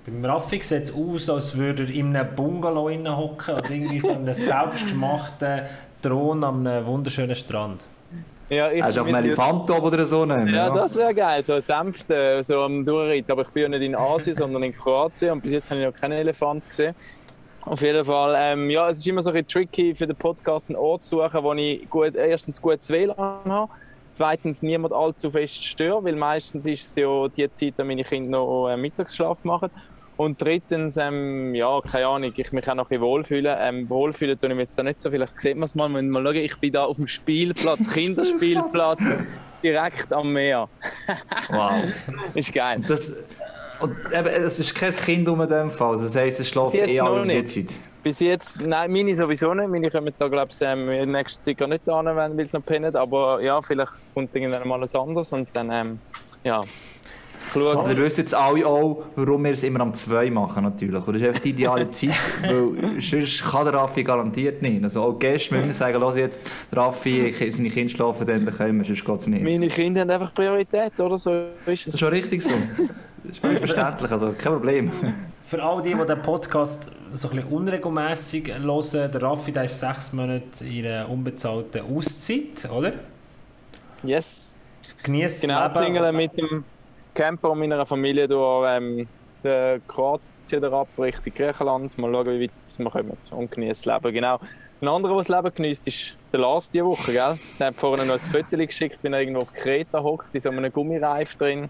Beim Raffi sieht es aus, als würde er in einem Bungalow hocken oder irgendwie so einem selbstgemachten Thron am wunderschönen Strand. Ja, hast du auf einem Elefant oder so? Ja, das wäre geil, so ein Sänfte, so am Durchreiten. Aber ich bin ja nicht in Asien, sondern in Kroatien und bis jetzt habe ich noch keinen Elefant gesehen. Auf jeden Fall, es ist immer so ein bisschen tricky für den Podcast einen Ort zu suchen, wo ich erstens gutes WLAN habe, zweitens niemand allzu fest störe, weil meistens ist es ja die Zeit, da meine Kinder noch Mittagsschlaf machen. Und drittens, keine Ahnung, ich mich auch noch ein bisschen wohlfühlen. Wohlfühlen tue ich mich jetzt da nicht so. Vielleicht sieht man es mal, wenn man schauen, ich bin da auf dem Spielplatz, Kinderspielplatz, direkt am Meer. Wow. Ist geil. Es ist kein Kind in dem Fall, also das heisst, es schläft alle in der Zeit. Bis jetzt, nein, meine sowieso nicht. Meine kommen da, glaube ich, in der nächsten Zeit gar nicht an, weil sie noch pennen. Aber ja, vielleicht kommt irgendwann mal was anderes und dann, Wir wissen jetzt alle auch, warum wir es immer am 2 machen, natürlich. Und das ist einfach die ideale Zeit, weil sonst kann der Raffi garantiert nicht. Also auch Gäste müssen sagen, los jetzt, Raffi, seine Kinder schlafen, dann können wir, sonst geht es nicht. Meine Kinder haben einfach Priorität, oder? So ist es. Das ist schon richtig so. Das ist völlig verständlich, also kein Problem. Für all die den Podcast so ein bisschen unregelmässig hören, der Raffi, der ist 6 Monate in einer unbezahlten Auszeit, oder? Yes. Genießt genau, klingeln mit dem Camper und meiner Familie durch Kroatien ab, Richtung Griechenland. Mal schauen, wie weit wir kommen und genießen das Leben. Genau. Ein anderer, der das Leben genießt, ist der Lars diese Woche. Gell? Der hat vorhin noch ein Foto geschickt, wie er irgendwo auf Kreta hockt, in so einem Gummireif drin.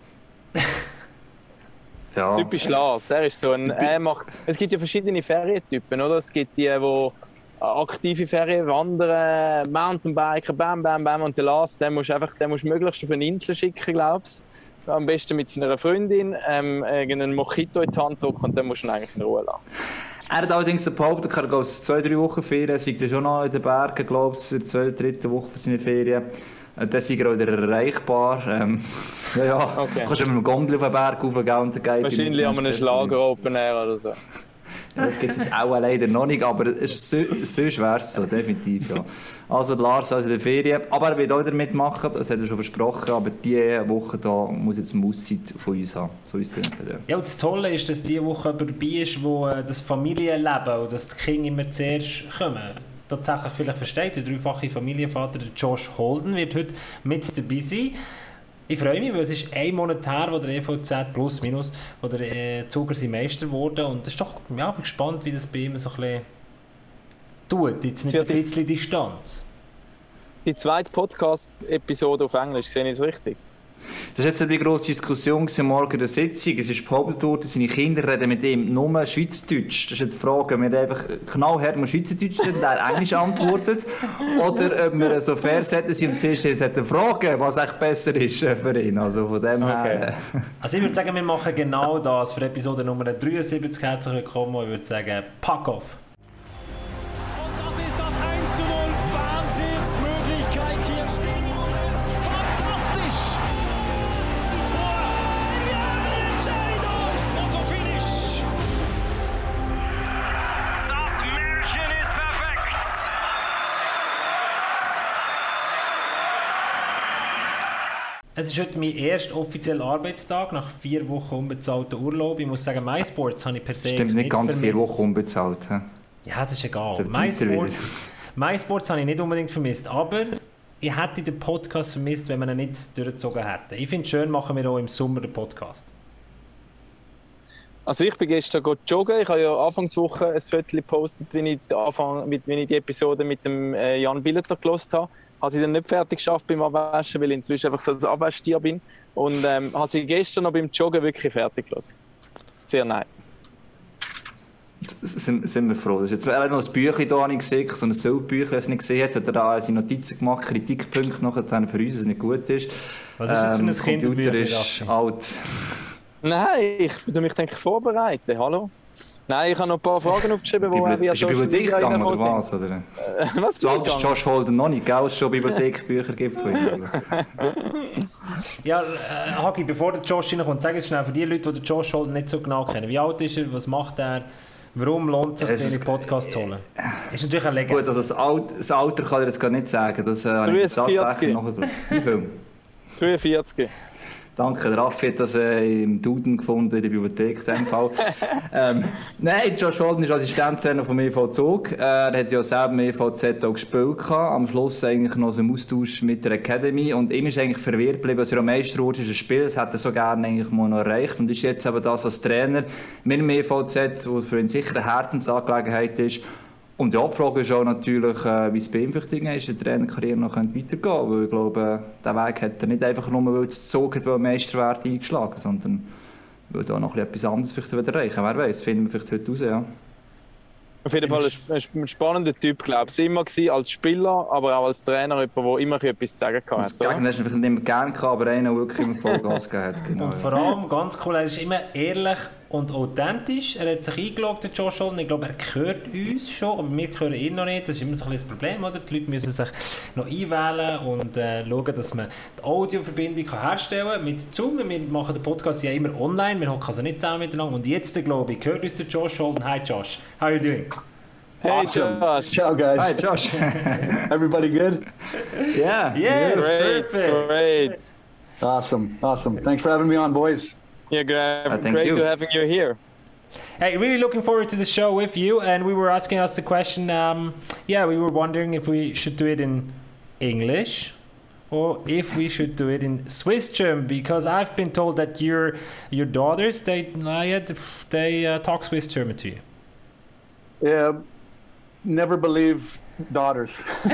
Ja. Typisch Lars. Er ist so es gibt ja verschiedene Ferientypen, oder? Es gibt die aktive Ferien, Wandern, Mountainbiken, bam, bam, bam. Und der Lars, den musst du möglichst auf eine Insel schicken, glaubst du. Am besten mit seiner Freundin, irgendeinen Mojito in die Hand drücken und dann musst du ihn eigentlich in Ruhe lassen. Er hat allerdings behauptet, er geht 2-3 Wochen Ferien, er sei schon noch in den Bergen, glaube ich, in der 2. oder 3. Woche von seiner Ferien. Dann sind wir auch wieder erreichbar. Okay. Kannst du mit einem Gondel auf den Berg raufgehen und dann wahrscheinlich an einem Schlager-Open Air oder so. Ja, das gibt es jetzt auch leider noch nicht, aber es ist so schwer so, definitiv. Ja. Also Lars in der Ferien, aber er wird auch damit machen, das hat er schon versprochen, aber diese Woche da muss jetzt eine Auszeit von uns haben, so ist es. Ja, und das Tolle ist, dass diese Woche jemand dabei ist, wo das Familienleben und dass die Kinder immer zuerst kommen. Tatsächlich vielleicht versteht, der dreifache Familienvater, der Josh Holden, wird heute mit dabei sein. Ich freue mich, weil es ist 1 Monat her, wo der EVZ plus minus, wo der Zuger sein Meister wurde und das ist doch, ja, ich bin gespannt, wie das bei ihm so ein bisschen tut, jetzt mit ein bisschen Distanz. Die zweite Podcast-Episode auf Englisch, sehe ich es richtig? Das war jetzt eine grosse Diskussion morgen in der Sitzung. Es ist behauptet worden, seine Kinder reden mit ihm nur Schweizerdeutsch. Das ist jetzt die Frage, ob wir einfach knallhart mal Schweizerdeutsch reden, der Englisch antwortet, oder ob wir so fair sind und zuerst fragen, was echt besser ist für ihn. Also von dem her. Also ich würde sagen, wir machen genau das für Episode Nummer 73. Herzlich willkommen und ich würde sagen, pack off! Es ist heute mein erster offizieller Arbeitstag nach 4 Wochen unbezahlter Urlaub. Ich muss sagen, MySports habe ich per se Stimmt, nicht ganz vermisst. 4 Wochen unbezahlt. He? Ja, das ist egal. MySports habe ich nicht unbedingt vermisst, aber ich hätte den Podcast vermisst, wenn wir ihn nicht durchgezogen hätten. Ich finde es schön, machen wir auch im Sommer den Podcast. Also ich bin gestern joggen. Ich habe ja Anfangswoche ein Foto gepostet, wie ich die Episode mit dem Jan Billeter gehört habe. Habe sie dann nicht fertig geschafft beim Abwaschen, weil ich inzwischen einfach so ein Abwaschtier bin. Und habe sie gestern noch beim Joggen wirklich fertig gelassen. Sehr nice. Sind wir froh. Das ist jetzt noch ein Büchlein da, habe ich gesehen, so ein Süllbüchlein, das ich nicht gesehen habe, hat er da seine Notizen gemacht, Kritikpunkte nachher für uns, dass es nicht gut ist. Was ist das für ein Computer ist alt. Nein, ich denke vorbereiten. Hallo? Nein, ich habe noch ein paar Fragen aufgeschrieben, die auch via Social Media gegangen oder was? Oder? Was so alt ist Josh Holden noch nicht, gell? Es schon Bibliothekbücher gibt von ihm. Ja, Hagi, bevor der Josh reinkommt, sag es schnell für die Leute, die den Josh Holden nicht so genau kennen. Wie alt ist er? Was macht er? Warum lohnt es sich, den Podcast zu holen? Ist natürlich eine Legende. Gut, also das Alter kann ich jetzt gar nicht sagen. Das habe ich tatsächlich nachgedacht. Wie viel? 43. Danke, Raffi hat das im Duden gefunden, in der Bibliothek in dem Fall. Nein, Josh Holden ist Assistenztrainer vom EV Zug. Er hat ja selber im EVZ auch gespielt gehabt. Am Schluss eigentlich noch so im Austausch mit der Academy. Und ihm ist eigentlich verwirrt geblieben, dass er am Meister wurde, ist ein Spiel. Das hätte er so gerne eigentlich mal noch erreicht. Und ist jetzt eben das als Trainer mit dem EVZ, was für ihn sicher eine Herzensangelegenheit ist. Und die Frage ist auch natürlich, wie es bei ihm vielleicht ist, die Trainerkarriere noch weitergehen könnte. Weil ich glaube, diesen Weg hat er nicht einfach nur, weil es Zug hat, weil Meisterwert eingeschlagen, sondern weil da noch etwas anderes vielleicht wieder erreichen. Wer weiß, finden wir vielleicht heute raus, ja. Auf jeden Fall ein spannender Typ, glaube ich. Immer gewesen, als Spieler, aber auch als Trainer, jemand, der immer etwas zu sagen kann. Das Gegner hast du vielleicht nicht mehr gerne gehabt, aber einer, der wirklich immer Vollgas gegeben hat. Genau, und vor allem, ganz cool, er ist immer ehrlich und authentisch. Er hat sich eingeloggt, der Josh Holden. Ich glaube, er hört uns schon, aber wir hören ihn noch nicht. Das ist immer so ein bisschen das Problem, oder? Die Leute müssen sich noch einwählen und schauen, dass man die Audioverbindung herstellen kann mit Zoom. Wir machen den Podcast ja immer online, wir hocken also nicht zusammen miteinander. Und jetzt, glaube ich, hört uns der Josh Holden. Hi Josh, how are you doing? Hey Awesome. Josh. Ciao guys. Hi Josh. Everybody good? Yeah. Yes, Great, perfect. great. Awesome. Thanks for having me on, boys. Yeah, great, thank great you. to having you here. Hey, really looking forward to the show with you. And we were asking us the question, we were wondering if we should do it in English or if we should do it in Swiss German, because I've been told that your daughters, they talk Swiss German to you. Yeah, never believe daughters.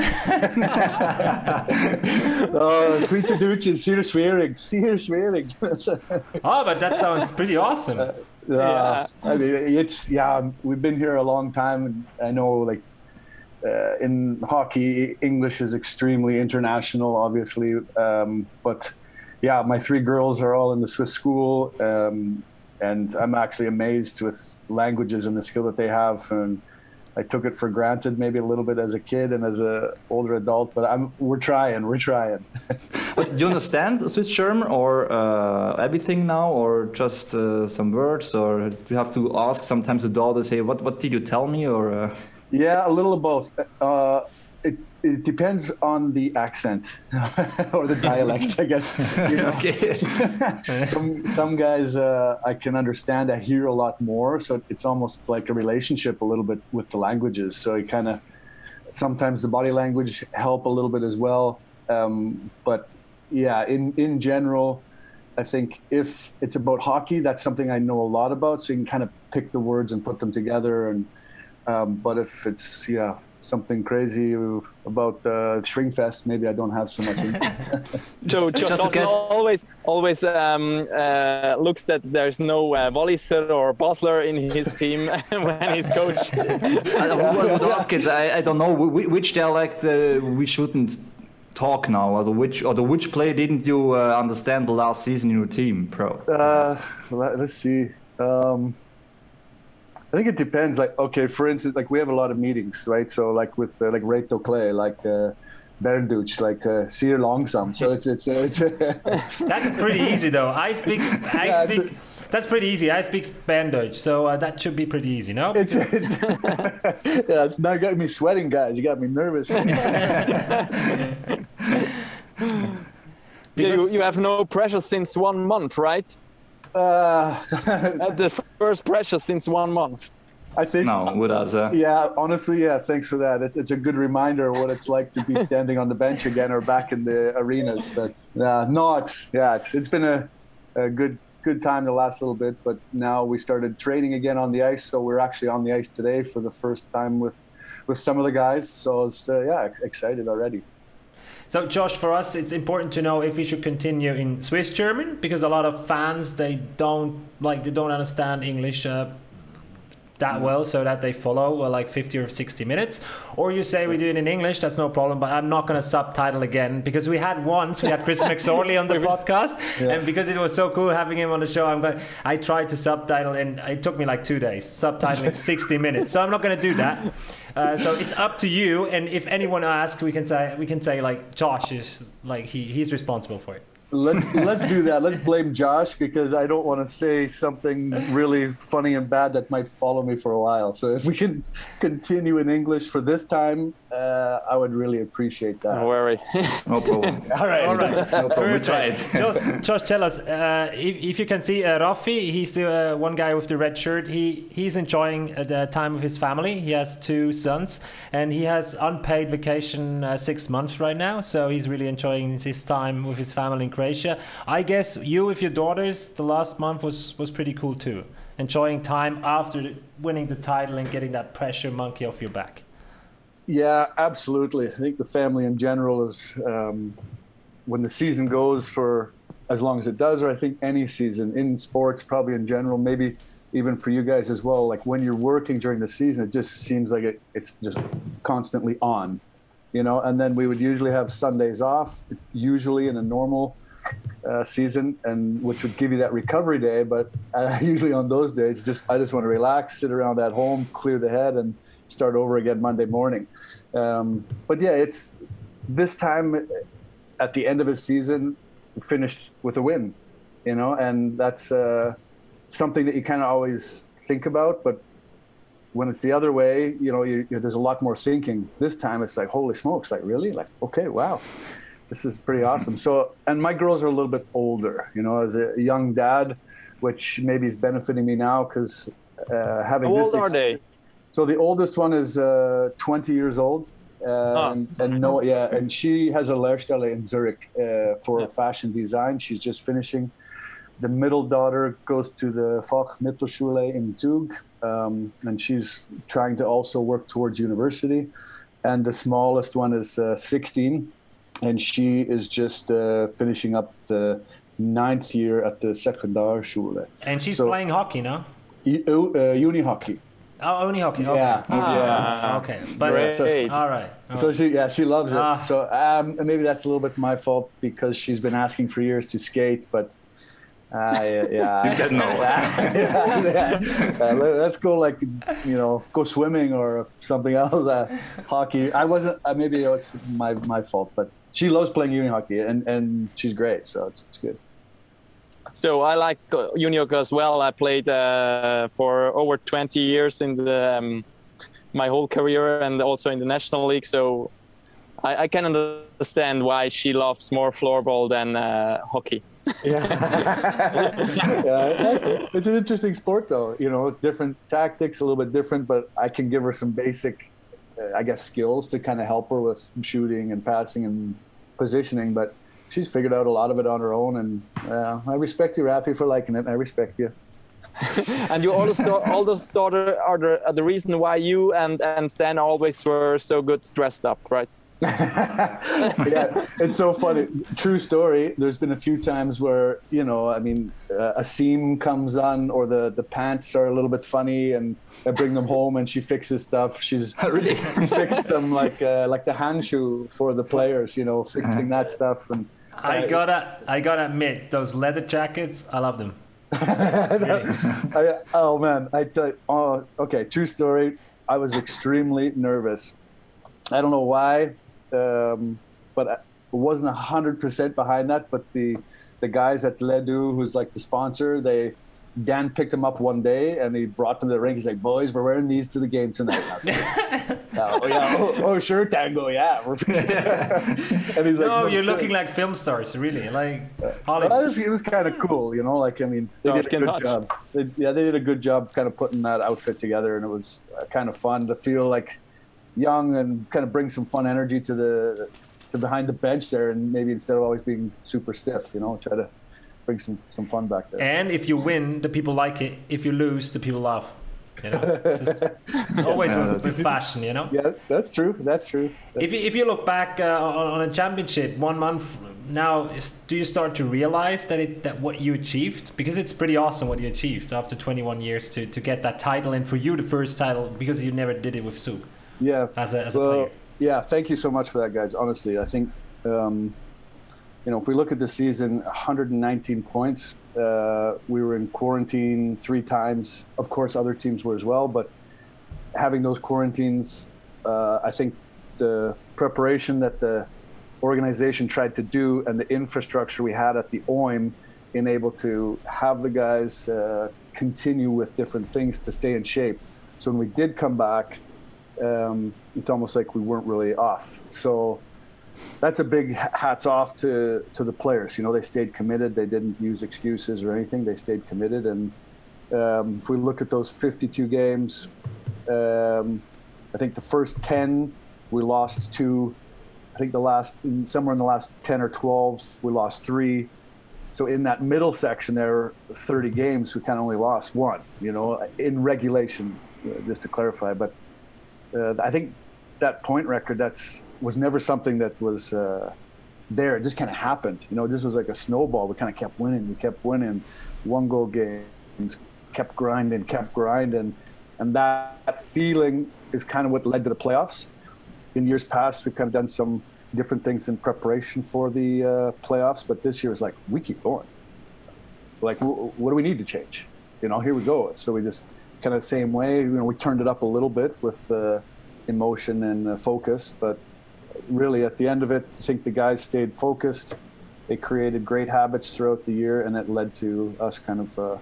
Schweizerdeutsch is sehr schwierig. Oh, but that sounds pretty awesome. Yeah. I mean, we've been here a long time, and I know, like, in hockey, English is extremely international, obviously. But yeah, my 3 girls are all in the Swiss school, and I'm actually amazed with languages and the skill that they have. And I took it for granted maybe a little bit as a kid and as an older adult, but we're trying. But do you understand Swiss German or everything now, or just some words, or do you have to ask sometimes the daughter, say, what did you tell me, or? Yeah, a little of both. It depends on the accent or the dialect, I guess. You know? Okay. Some guys I can understand. I hear a lot more, so it's almost like a relationship a little bit with the languages. So it kind of sometimes the body language help a little bit as well. But yeah, in general, I think if it's about hockey, that's something I know a lot about. So you can kind of pick the words and put them together. And but if it's something crazy about Shrinkfest, maybe I don't have so much info. So Josh always looks that there's no Walliser or Basler in his team when he's coach. I would ask it. I don't know which dialect we shouldn't talk now. Which play didn't you understand the last season in your team, Pro? Let's see. I think it depends. Like, okay, for instance, like we have a lot of meetings, right? So like with like Reto Clay, like Bernduch, like Seer Longsam. So it's That's pretty easy though. I speak. That's pretty easy. I speak Berndeutsch, so that should be pretty easy, no? It's now got me sweating, guys. You got me nervous. You have no pressure since 1 month, right? The first pressure since 1 month. I think. No, with us. Yeah, honestly, yeah. Thanks for that. It's a good reminder of what it's like to be standing on the bench again or back in the arenas. But it's been a good time the last little bit. But now we started training again on the ice, so we're actually on the ice today for the first time with some of the guys. So it's excited already. So, Josh, for us, it's important to know if we should continue in Swiss German, because a lot of fans, they don't understand English that well, so that they follow like 50 or 60 minutes. Or you say we do it in English, that's no problem, but I'm not going to subtitle again, because we had Chris McSorley on the podcast, and because it was so cool having him on the show, I tried to subtitle, and it took me like 2 days, subtitling 60 minutes. So I'm not going to do that. So it's up to you, and if anyone asks, we can say like Josh is like he's responsible for it. let's do that. Let's blame Josh because I don't want to say something really funny and bad that might follow me for a while. So if we can continue in English for this time, I would really appreciate that. Don't worry. No problem. All right. No problem. We try it. Just tell us, if you can see Rafi, he's the one guy with the red shirt. He's enjoying the time with his family. He has 2 sons, and he has unpaid vacation 6 months right now. So he's really enjoying his time with his family in Croatia. I guess you with your daughters, the last month was pretty cool too. Enjoying time after winning the title and getting that pressure monkey off your back. Yeah, absolutely. I think the family in general is, when the season goes for as long as it does, or I think any season in sports, probably in general, maybe even for you guys as well, like when you're working during the season, it just seems like it's just constantly on, you know, and then we would usually have Sundays off, usually in a normal season, and which would give you that recovery day. But usually on those days, I just want to relax, sit around at home, clear the head, and start over again Monday morning. But yeah, it's this time at the end of a season, finished with a win, you know, and that's something that you kind of always think about. But when it's the other way, you know, there's a lot more thinking. This time it's like, holy smokes, like really? Like, okay, wow, this is pretty awesome. So, and my girls are a little bit older, you know, as a young dad, which maybe is benefiting me now because having How this. old are they? So the oldest one is 20 years old, and she has a Lehrstelle in Zurich for fashion design. She's just finishing. The middle daughter goes to the Fachmittelschule in Zug, and she's trying to also work towards university. And the smallest one is 16, and she is just finishing up the 9th year at the Sekundarschule. And she's playing hockey, no? Uni hockey. Oh, only hockey. Okay. Yeah. Okay. But Great. all right. So she loves it. So maybe that's a little bit my fault because she's been asking for years to skate, but You said no. Let's go, like, you know, go swimming or something else. Hockey. I wasn't. Maybe it was my fault, but she loves playing uni hockey and she's great. So it's good. So I like uni hockey as well. I played for over 20 years in the my whole career and also in the national league. So I can understand why she loves more floorball than hockey. Yeah. It's an interesting sport, though. You know, different tactics, a little bit different, but I can give her some basic, I guess, skills to kind of help her with shooting and passing and positioning. But she's figured out a lot of it on her own, and I respect you, Rafi, for liking it. I respect you. And your oldest daughter are the reason why you and Stan always were so good dressed up, right? Yeah, it's so funny. True story. There's been a few times where, you know, I mean, a seam comes on or the pants are a little bit funny, and I bring them home and she fixes stuff. She's really fixed some like the hand shoe for the players, you know, fixing that stuff. And I gotta admit, those leather jackets, I love them. Oh man, I tell you, okay, true story. I was extremely nervous. I don't know why, but I wasn't 100% behind that. But the guys at Ledu, who's like the sponsor, Dan picked them up one day and he brought them to the rink. He's like, "Boys, we're wearing these to the game tonight." Oh, sure, Tango, yeah. And he's like, "No, you're looking like film stars, really." Like, it was kind of cool, you know. Like, I mean, they did a good job. They did a good job, kind of putting that outfit together, and it was kind of fun to feel like young and kind of bring some fun energy to behind the bench there, and maybe instead of always being super stiff, you know, try to bring some fun back there. And if you win, the people like it. If you lose, the people laugh. You know, always with fashion, you know. Yeah, that's true. If you look back on a championship 1 month now, do you start to realize that what you achieved? Because it's pretty awesome what you achieved after 21 years to get that title, and for you the first title because you never did it with Zug. Yeah, as a player. Yeah, thank you so much for that, guys. Honestly, I think. You know, if we look at the season, 119 points. We were in quarantine 3 times. Of course, other teams were as well. But having those quarantines, I think the preparation that the organization tried to do and the infrastructure we had at the OIM in able to have the guys continue with different things to stay in shape. So when we did come back, it's almost like we weren't really off. So that's a big hats off to the players. You know, they stayed committed. They didn't use excuses or anything. They stayed committed. And if we look at those 52 games, I think the first 10 we lost 2. I think somewhere in the last 10 or 12 we lost 3. So in that middle section there, 30 games, we kind of only lost 1. You know, in regulation, just to clarify. But I think that point record was never something that was there. It just kind of happened. You know, this was like a snowball. We kind of kept winning. We kept winning 1-goal games, kept grinding. And that feeling is kind of what led to the playoffs. In years past, we've kind of done some different things in preparation for the playoffs. But this year was like, we keep going. Like, what do we need to change? You know, here we go. So we just kind of the same way. You know, we turned it up a little bit with emotion and focus, but really at the end of it, I think the guys stayed focused. They created great habits throughout the year, and it led to us kind of,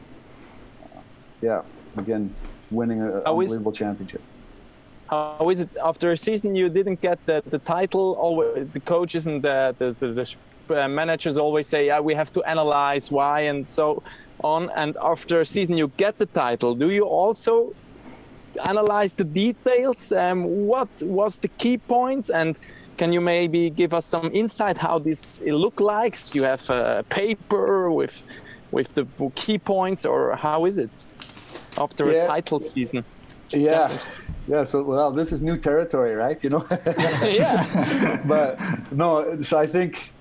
again, winning an unbelievable championship. How is it after a season you didn't get the title? Always, the coaches and the managers always say, yeah, we have to analyze why and so on. And after a season you get the title, do you also analyze the details? What was the key points? And can you maybe give us some insight how this look like? You have a paper with the key points, or how is it after a title season? Yeah. So, well, this is new territory, right? You know? Yeah. But no, so I think,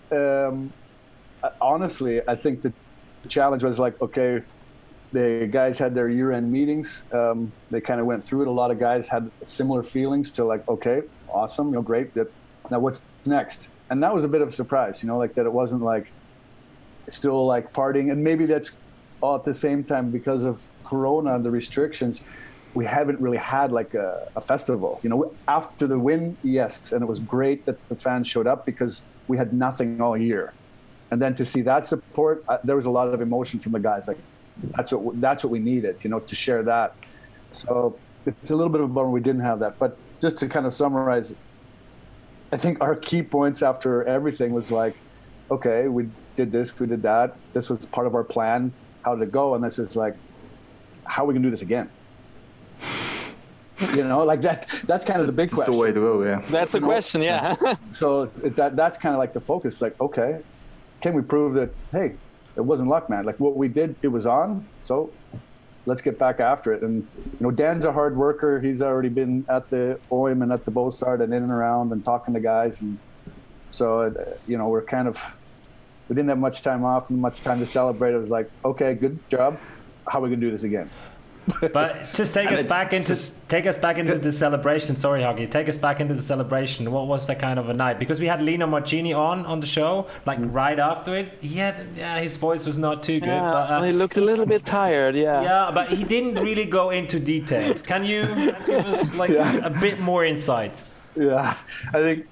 honestly, I think the challenge was like, okay, the guys had their year-end meetings. They kind of went through it. A lot of guys had similar feelings to like, okay, awesome, you know, great. Now what's next? And that was a bit of a surprise, you know, like that it wasn't like still like partying. And maybe that's all at the same time because of Corona and the restrictions. We haven't really had like a festival, you know. After the win, yes, and it was great that the fans showed up because we had nothing all year, and then to see that support, there was a lot of emotion from the guys. Like that's what we needed, you know, to share that. So it's a little bit of a bummer we didn't have that. But just to kind of summarize, I think our key points after everything was like, okay, we did this, we did that. This was part of our plan. How did it go? And this is like, how are we gonna do this again? You know, like that's kind of the big question. That's the way to go, yeah. That's the question, yeah. So that's kind of like the focus. Like, okay, can we prove that, hey, it wasn't luck, man. Like what we did, it was on. So let's get back after it. And, you know, Dan's a hard worker. He's already been at the OIM and at the Beausard and in and around and talking to guys. And so, you know, we didn't have much time off and much time to celebrate. It was like, okay, good job. How are we going to do this again? But just take us back into the celebration. Sorry, Hoggy. Take us back into the celebration. What was that kind of a night? Because we had Lino Marchini on the show, like right after it. His voice was not too good. Yeah, but, he looked a little bit tired. Yeah. Yeah, but he didn't really go into details. Can you give us like a bit more insight? Yeah, I think.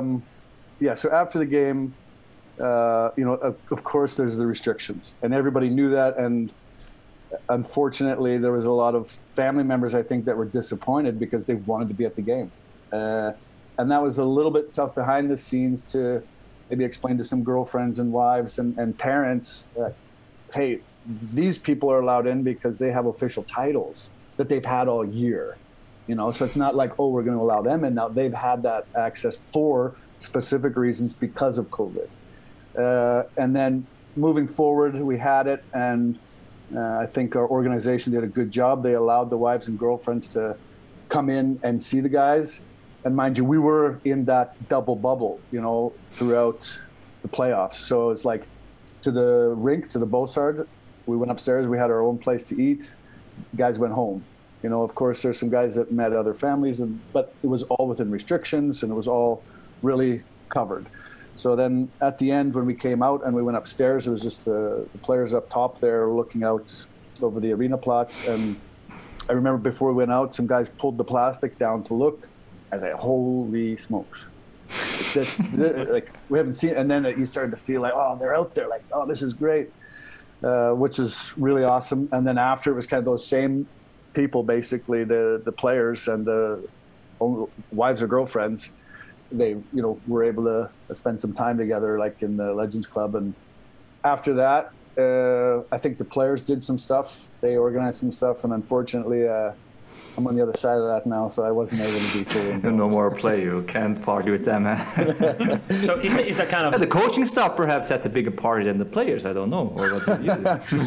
So after the game, you know, of course, there's the restrictions, and everybody knew that, and. Unfortunately, there was a lot of family members, I think, that were disappointed because they wanted to be at the game. And that was a little bit tough behind the scenes to maybe explain to some girlfriends and wives and parents, hey, these people are allowed in because they have official titles that they've had all year. You know, so it's not like, oh, we're going to allow them in now. They've had that access for specific reasons because of COVID. And then moving forward, we had it, and I think our organization did a good job. They allowed the wives and girlfriends to come in and see the guys. And mind you, we were in that double bubble, you know, throughout the playoffs. So it's like to the rink, to the Beausard, we went upstairs. We had our own place to eat. Guys went home. You know, of course, there's some guys that met other families, but it was all within restrictions, and it was all really covered. So then at the end, when we came out and we went upstairs, it was just the players up top there looking out over the arena plots. And I remember before we went out, some guys pulled the plastic down to look. I was like, holy smokes. like we haven't seen. And then you started to feel like, oh, they're out there, like, oh, this is great, which is really awesome. And then after, it was kind of those same people, basically the players and the wives or girlfriends. They, were able to spend some time together, like in the Legends Club. And after that, I think the players did some stuff. They organized some stuff, and unfortunately, I'm on the other side of that now, so I wasn't able to be fully involved. No more play. You can't party with them. So is that kind of... The coaching staff perhaps had a bigger party than the players. I don't know. Or what did you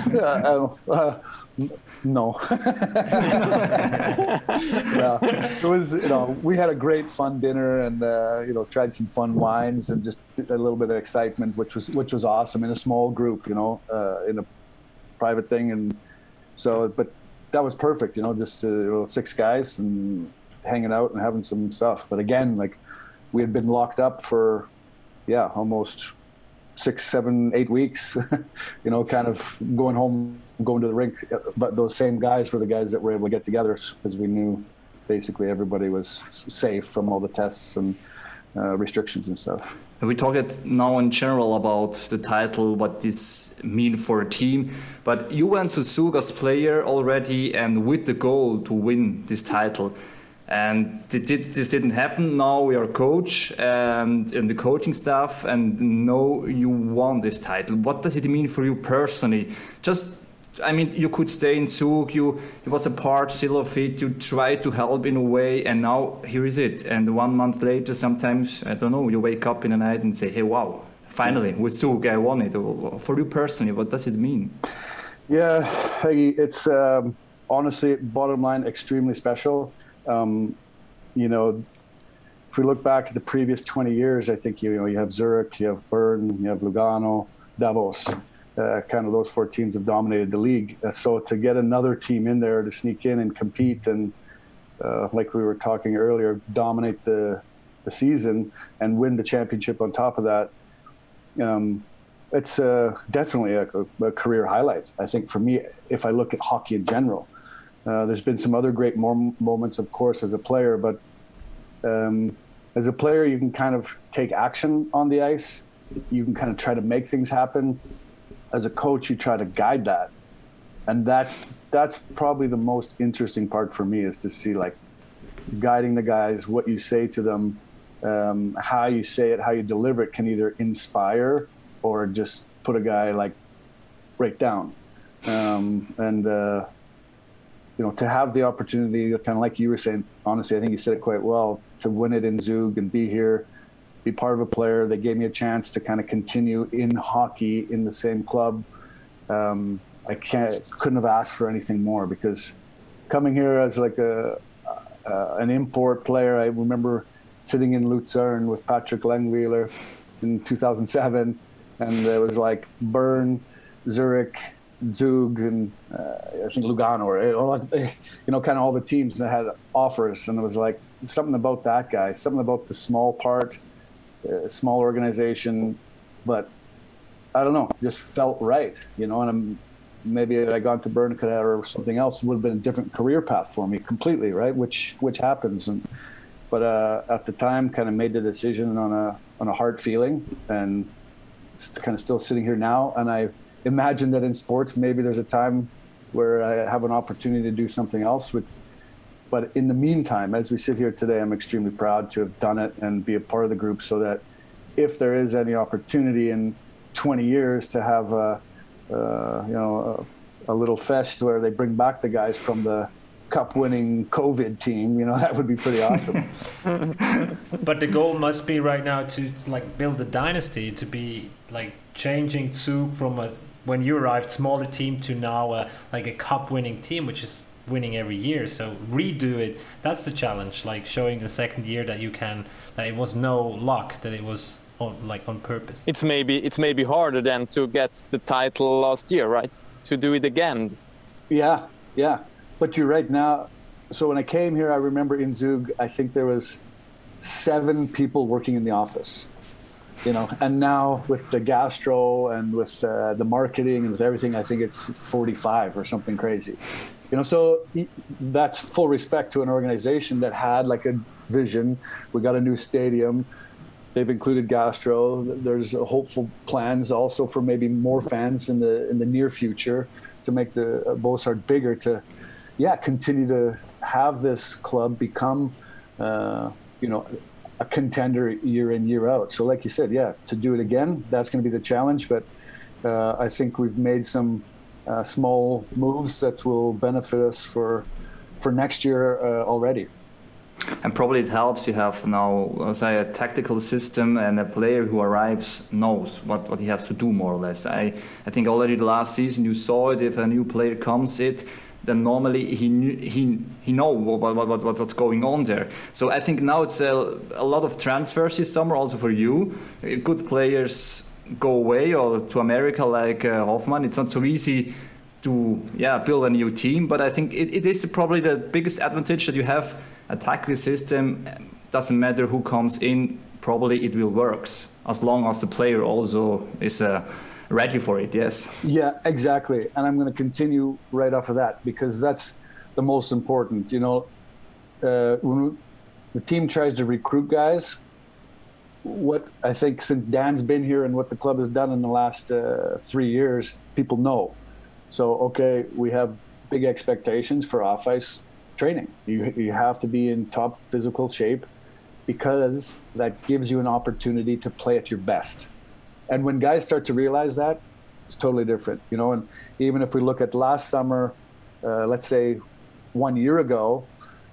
do? No. It was, we had a great fun dinner and, tried some fun wines and just a little bit of excitement, which was awesome in a small group, in a private thing. And so, but that was perfect, just 6 guys and hanging out and having some stuff. But again, like we had been locked up for, almost 6, 7, 8 weeks, kind of going home, going to the rink. But those same guys were the guys that were able to get together because we knew basically everybody was safe from all the tests and restrictions and stuff. We talked now in general about the title, what this mean for a team. But you went to Zug as player already and with the goal to win this title. And this didn't happen. Now you're a coach and in the coaching staff, and now you won this title. What does it mean for you personally? You could stay in Zug, you was a part still of it, you tried to help in a way, and now here is it. And 1 month later, sometimes, I don't know, you wake up in the night and say, hey, wow, finally, with Zug, I won it. For you personally, what does it mean? Yeah, it's honestly, bottom line, extremely special. If we look back at the previous 20 years, I think, you have Zurich, you have Bern, you have Lugano, Davos. Kind of those 4 teams have dominated the league. So to get another team in there to sneak in and compete and, like we were talking earlier, dominate the season and win the championship on top of that, it's definitely a career highlight. I think for me, if I look at hockey in general, there's been some other great moments, of course, as a player, but as a player, you can kind of take action on the ice. You can kind of try to make things happen. As a coach, you try to guide that. And that's probably the most interesting part for me, is to see like guiding the guys, what you say to them, how you say it, how you deliver it can either inspire or just put a guy like break down. To have the opportunity, kind of like you were saying, honestly, I think you said it quite well, to win it in Zug and be here, be part of a player. They gave me a chance to kind of continue in hockey in the same club. I couldn't have asked for anything more, because coming here as like an import player, I remember sitting in Luzern with Patrick Langweiler in 2007, and there was like Bern, Zurich, Zug, and I think Lugano, kind of all the teams that had offers, and it was like something about that guy, something about the small part, small organization, but I don't know, just felt right, and maybe if I gone to Bern or something else, it would have been a different career path for me completely, right? Which happens, but at the time, kind of made the decision on a heart feeling, and just kind of still sitting here now, and I imagine that in sports, maybe there's a time where I have an opportunity to do something else. But in the meantime, as we sit here today, I'm extremely proud to have done it and be a part of the group, so that if there is any opportunity in 20 years to have a little fest where they bring back the guys from the cup-winning COVID team, that would be pretty awesome. But the goal must be right now to like build a dynasty, to be like changing Zug from when you arrived, smaller team to now like a cup-winning team, which is winning every year. So redo it. That's the challenge. Like showing the second year that you can, that it was no luck, that it was on purpose. It's maybe harder than to get the title last year, right? To do it again. Yeah. But you're right now. So when I came here, I remember in Zug, I think there was 7 people working in the office. And now with the gastro and with the marketing and with everything, I think it's 45 or something crazy. So that's full respect to an organization that had like a vision. We got a new stadium. They've included gastro. There's hopeful plans also for maybe more fans in the near future to make the Bossard bigger. To continue to have this club become a contender year in, year out. So like you said, to do it again, that's going to be the challenge. But I think we've made some small moves that will benefit us for next year already. And probably it helps you have now, say, a tactical system, and a player who arrives knows what he has to do, more or less. I think already the last season you saw it. If a new player comes then normally he know what's going on there. So I think now it's a lot of transfers this summer also for you. Good players go away or to America like Hoffmann. It's not so easy to build a new team, but I think it is probably the biggest advantage that you have. A tactical system, doesn't matter who comes in, probably it will work as long as the player also is ready for it. Yes. Yeah, exactly. And I'm going to continue right off of that because that's the most important. When the team tries to recruit guys, what I think since Dan's been here and what the club has done in the last 3 years, people know. So, we have big expectations for off-ice training. You have to be in top physical shape because that gives you an opportunity to play at your best. And when guys start to realize that, it's totally different. And even if we look at last summer, let's say 1 year ago,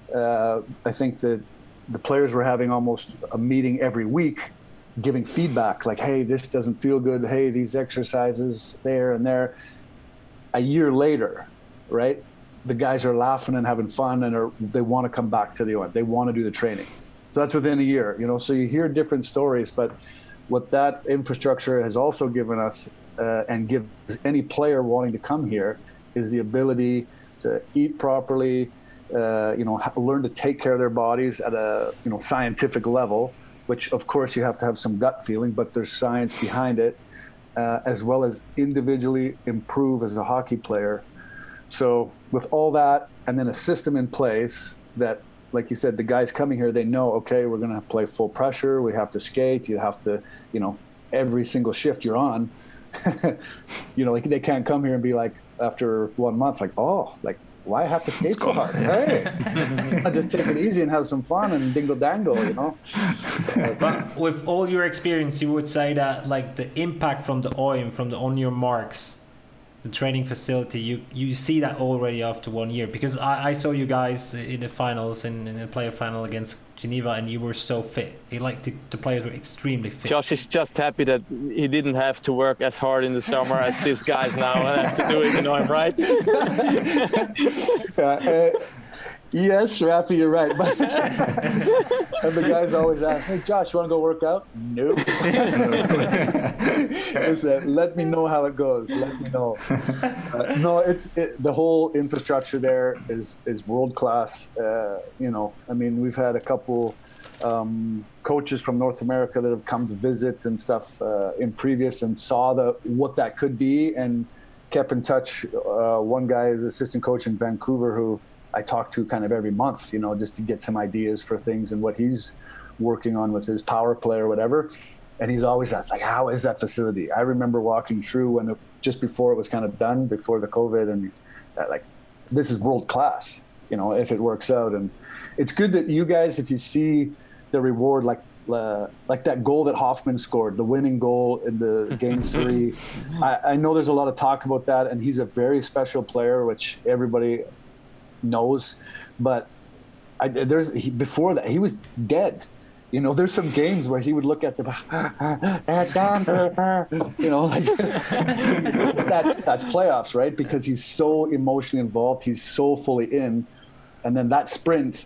I think that the players were having almost a meeting every week giving feedback like, hey, this doesn't feel good. Hey, these exercises there and there. A year later, right? The guys are laughing and having fun and they want to come back to the event. They want to do the training. So that's within a year, so you hear different stories, but what that infrastructure has also given us and gives any player wanting to come here is the ability to eat properly, learn to take care of their bodies at a, scientific level, which of course you have to have some gut feeling, but there's science behind it, as well as individually improve as a hockey player. So with all that, and then a system in place that, like you said, the guys coming here, they know, we're going to play full pressure. We have to skate. You have to, every single shift you're on, they can't come here and be like, after 1 month, why have to skate so hard? Hey, I just take it easy and have some fun and dingle dangle, But with all your experience, you would say that the impact from the OIM, from the On Your Marks, the training facility, you see that already after 1 year, because I saw you guys in the finals, in the playoff final against Geneva, and you were so fit. The players were extremely fit. Josh is just happy that he didn't have to work as hard in the summer as these guys now have to do it, right? Yes, Rafi, you're right. But and the guys always ask, hey, Josh, you want to go work out? Nope. Let me know how it goes. Let me know. The whole infrastructure there is world class. We've had a couple coaches from North America that have come to visit and stuff in previous and saw what that could be and kept in touch. One guy, the assistant coach in Vancouver, who I talk to kind of every month, just to get some ideas for things and what he's working on with his power play or whatever. And he's always asked, how is that facility? I remember walking through just before it was kind of done, before the COVID, and he's this is world class, if it works out. And it's good that you guys, if you see the reward, like that goal that Hoffmann scored, the winning goal in the game 3. I know there's a lot of talk about that, and he's a very special player, which everybody knows, but before that he was dead. There's some games where he would look at the that's playoffs, right? Because he's so emotionally involved, he's so fully in, and then that sprint,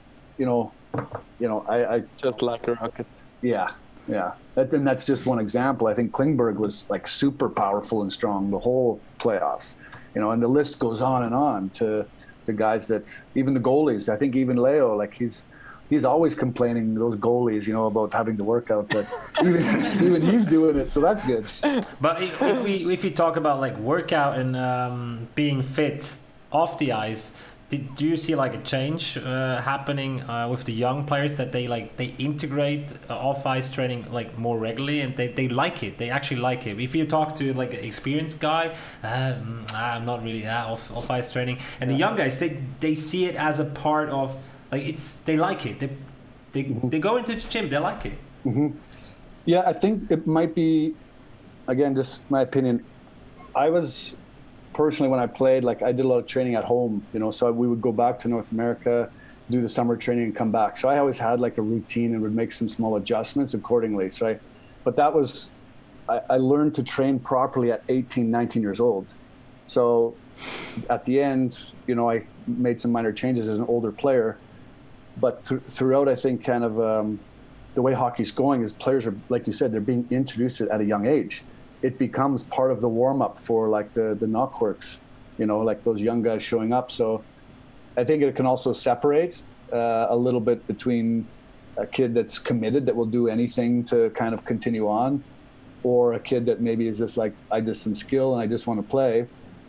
I just like a rocket. Yeah. And that's just one example. I think Klingberg was super powerful and strong the whole playoffs, and the list goes on and on to the guys that, even the goalies. I think even Leo, he's always complaining, those goalies, about having to work out, but even he's doing it, so that's good. But if we talk about workout and being fit off the ice, do you see like a change happening with the young players that they integrate off ice training like more regularly and they like it? They actually like it. If you talk to like an experienced guy, I'm not really off ice training, and the young guys they see it as a part of like they like it. They go into the gym, they like it. Mm-hmm. Yeah, I think it might be, again, just my opinion. I was personally, when I played, like I did a lot of training at home, so we would go back to North America, do the summer training and come back. So I always had like a routine and would make some small adjustments accordingly. But that was, I learned to train properly at 18, 19 years old. So at the end, I made some minor changes as an older player. But throughout, I think kind of the way hockey's going is players are, like you said, they're being introduced at a young age. It becomes part of the warm-up for like the knockworks, like those young guys showing up. So I think it can also separate a little bit between a kid that's committed, that will do anything to kind of continue on, or a kid that maybe is just like, I just some skill and I just want to play,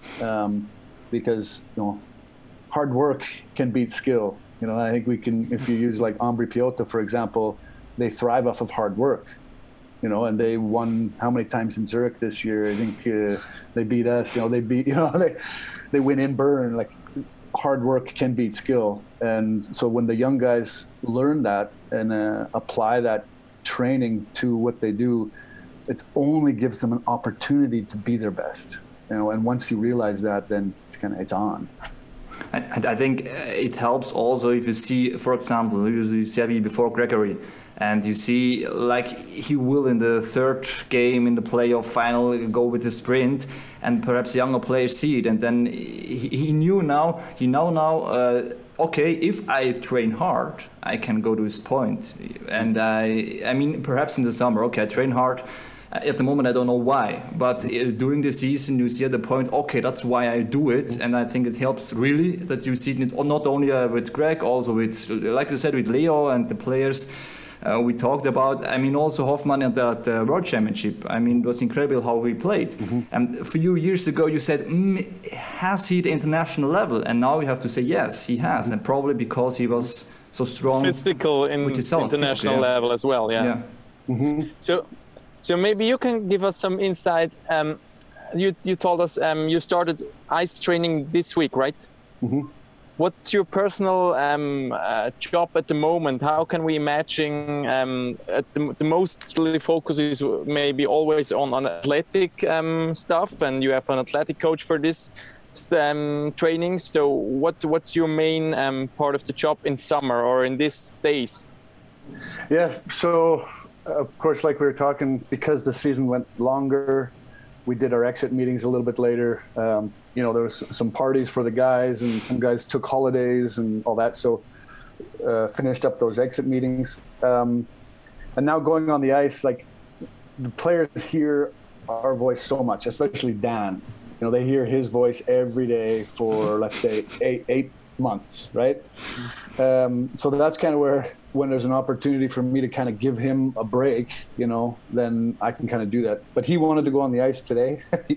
because hard work can beat skill. I think we can, if you use like Ambri Piotta, for example, they thrive off of hard work. And they won how many times in Zurich this year? I think they beat us. They beat. They win in Bern. Like hard work can beat skill, and so when the young guys learn that and apply that training to what they do, it only gives them an opportunity to be their best. And once you realize that, then it's on. I think it helps also if you see, for example, you said before Gregory. And you see, like he will in the third game in the playoff final go with the sprint, and perhaps younger players see it, and then he now, okay, if I train hard, I can go to this point. And I mean, perhaps in the summer, okay, I train hard. At the moment, I don't know why, but during the season, you see at the point, okay, that's why I do it, and I think it helps really that you see it not only with Greg, also with, like you said, with Leo and the players. We talked about, also Hoffman at the World Championship. It was incredible how he played. Mm-hmm. And a few years ago, you said, has he the international level? And now you have to say, yes, he has. Mm-hmm. And probably because he was so strong. Physical in international level as well, yeah. Mm-hmm. So maybe you can give us some insight. You told us you started ice training this week, right? Mm-hmm. What's your personal job at the moment? How can we imagine the mostly focus is maybe always on athletic stuff, and you have an athletic coach for this training. So what's your main part of the job in summer or in these days? Yeah, so of course, like we were talking, because the season went longer, we did our exit meetings a little bit later. There was some parties for the guys, and some guys took holidays and all that. So finished up those exit meetings. And now going on the ice, like the players hear our voice so much, especially Dan. They hear his voice every day for, let's say, eight months, right? So that's kind of where, when there's an opportunity for me to kind of give him a break, then I can kind of do that. But he wanted to go on the ice today.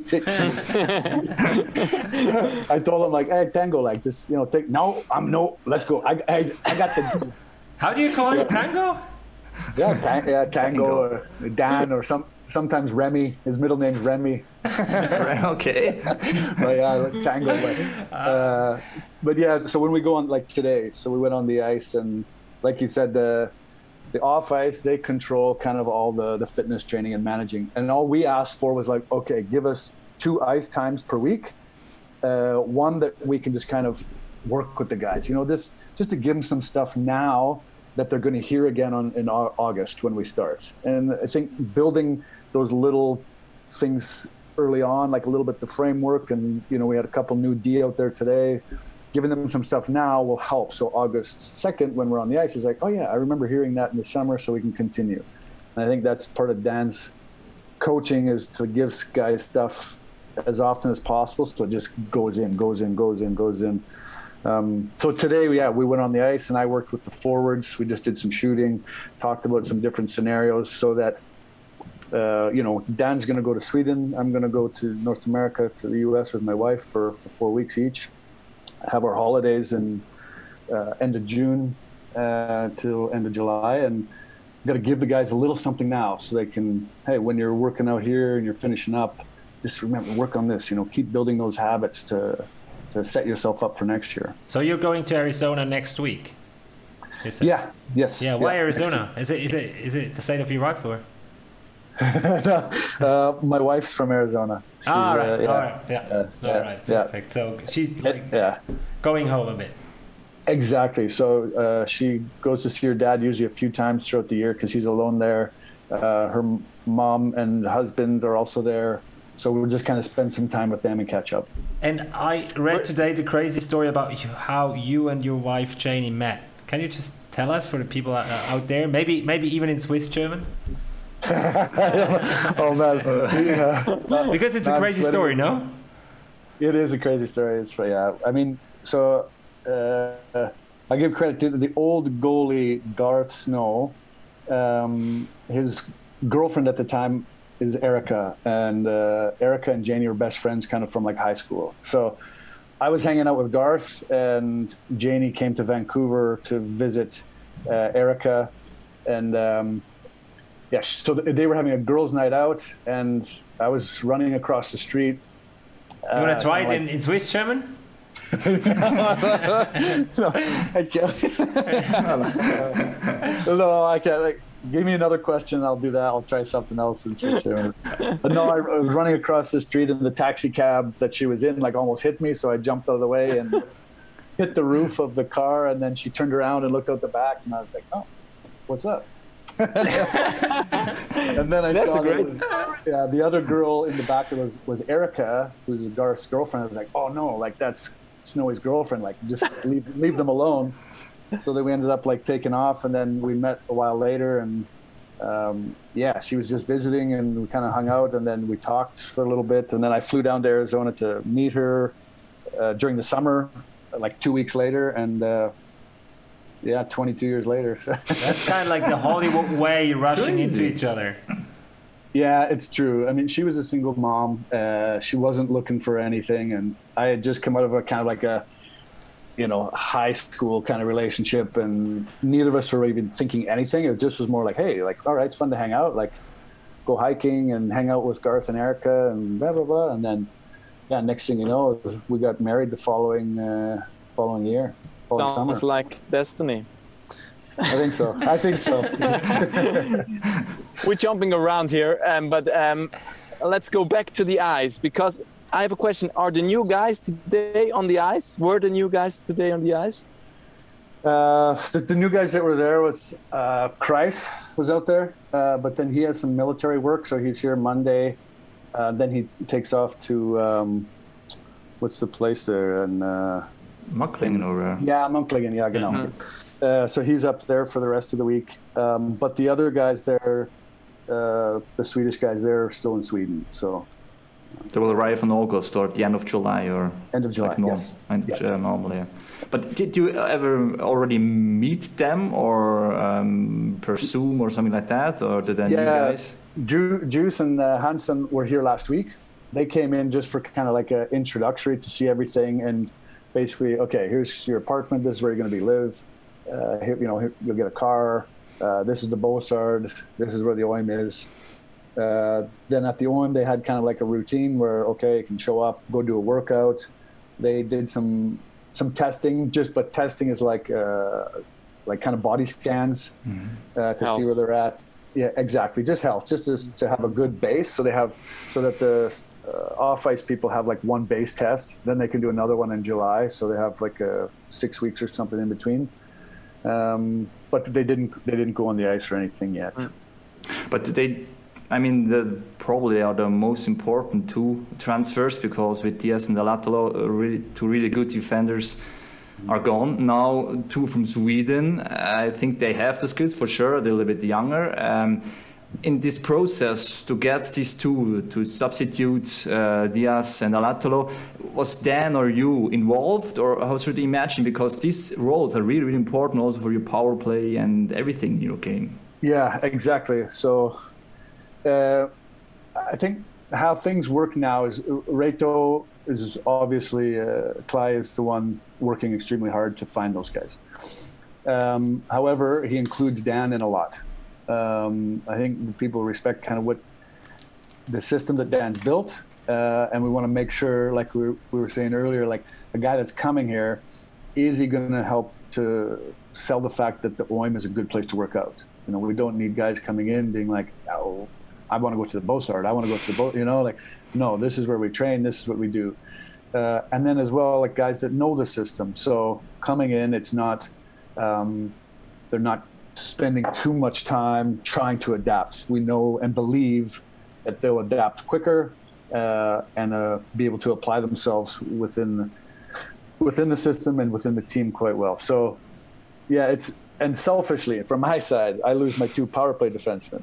I told him, like, hey, Tango, like, just, let's go. I got the... How do you call him, Tango? Yeah, Tango or Dan or sometimes Remy. His middle name's Remy. Okay. But yeah, Tango. But yeah, so when we go on, like today, so we went on the ice, and like you said, the off ice, they control kind of all the fitness training and managing. And all we asked for was like, okay, give us 2 ice times per week. One that we can just kind of work with the guys, just to give them some stuff now that they're going to hear again in August when we start. And I think building those little things early on, like a little bit the framework, and we had a couple new D out there today. Giving them some stuff now will help. So August 2nd, when we're on the ice, is like, oh yeah, I remember hearing that in the summer, so we can continue. And I think that's part of Dan's coaching, is to give guys stuff as often as possible, so it just goes in. So today, we went on the ice, and I worked with the forwards. We just did some shooting, talked about some different scenarios, so that Dan's going to go to Sweden. I'm going to go to North America, to the U.S. with my wife for 4 weeks each. have our holidays in end of June till end of July, and got to give the guys a little something now so they can, hey, when you're working out here and you're finishing up, just remember, work on this, keep building those habits to set yourself up for next year. So you're going to Arizona next week? Yeah. Yes. Yeah. Why Arizona? Is it the state of your wife or? My wife's from Arizona. She's, all right. Perfect. So she's going home a bit. Exactly. So she goes to see her dad usually a few times throughout the year because he's alone there. Her mom and husband are also there. So we'll just kind of spend some time with them and catch up. And I read today the crazy story about how you and your wife Janie met. Can you just tell us for the people out there, maybe even in Swiss German? Oh man, because it's a crazy story, no? It is a crazy story. I mean, so I give credit to the old goalie Garth Snow. His girlfriend at the time is Erica, and Erica and Janie were best friends kind of from like high school. So I was hanging out with Garth, and Janie came to Vancouver to visit Erica, and so they were having a girls' night out, and I was running across the street. You want to try it in Swiss German? No, I can't. No, I can't. Give me another question, I'll do that. I'll try something else in Swiss German. But no, I was running across the street, and the taxi cab that she was in almost hit me, so I jumped out of the way and hit the roof of the car, and then she turned around and looked out the back, and I was like, oh, what's up? And then I saw the other girl in the back was Erica, who's Garth's girlfriend. I was like, oh no, that's Snowy's girlfriend, just leave them alone. So then we ended up taking off, and then we met a while later, and she was just visiting, and we kind of hung out, and then we talked for a little bit, and then I flew down to Arizona to meet her during the summer, 2 weeks later, and 22 years later. That's kind of like the Hollywood way, rushing into each other. Yeah, it's true. I mean, she was a single mom. She wasn't looking for anything, and I had just come out of a kind of a high school kind of relationship, and neither of us were even thinking anything. It just was more hey, all right, it's fun to hang out, go hiking and hang out with Garth and Erica and blah, blah, blah. And then, next thing you know, we got married the following year. Sounds like destiny. I think so. We're jumping around here, but let's go back to the ice, because I have a question. Are the new guys today on the ice? Were the new guys today on the ice? The new guys that were there was Kreis was out there, but then he has some military work, so he's here Monday. Then he takes off to what's the place there? And Möcklingen or Möcklingen, yeah, genau. Mm-hmm. So he's up there for the rest of the week. But the other guys there, the Swedish guys there, are still in Sweden. So they will arrive in August or at the end of July or end of July. Yes. Normally. Yeah. But did you ever already meet them or per Zoom or something like that, or did any new guys? Juice and Hansen were here last week. They came in just for kind of an introductory to see everything, and basically, okay, here's your apartment. This is where you're going to live. Here, you'll get a car. This is the Bossard. This is where the OIM is. Then at the OIM, they had kind of a routine where, okay, you can show up, go do a workout. They did some testing, but testing is like kind of body scans to see where they're at. Yeah, exactly. Just health, just to have a good base. So that the off-ice people have one base test. Then they can do another one in July. So they have 6 weeks or something in between. But they didn't go on the ice or anything yet. But they probably are the most important two transfers, because with Diaz and Alatalo, two really good defenders are gone. Now, two from Sweden. I think they have the skills for sure. They're a little bit younger. In this process, to get these two to substitute Diaz and Alatalo, was Dan or you involved, or how should you imagine? Because these roles are really, really important also for your power play and everything in your game. Yeah, exactly. So I think how things work now is Reto is obviously Klay is the one working extremely hard to find those guys. However, he includes Dan in a lot. I think people respect kind of what the system that Dan's built, and we want to make sure, like we were saying earlier, like a guy that's coming here, is he going to help to sell the fact that the OIM is a good place to work out? You know, we don't need guys coming in being like, oh, I want to go to the Bossard, I want to go to the boat, you know, like, no, this is where we train, this is what we do. And then as well, like guys that know the system. So coming in, it's not, they're not spending too much time trying to adapt. We know and believe that they'll adapt quicker and be able to apply themselves within the system and within the team quite well. So, yeah, and selfishly, from my side, I lose my 2 power play defensemen.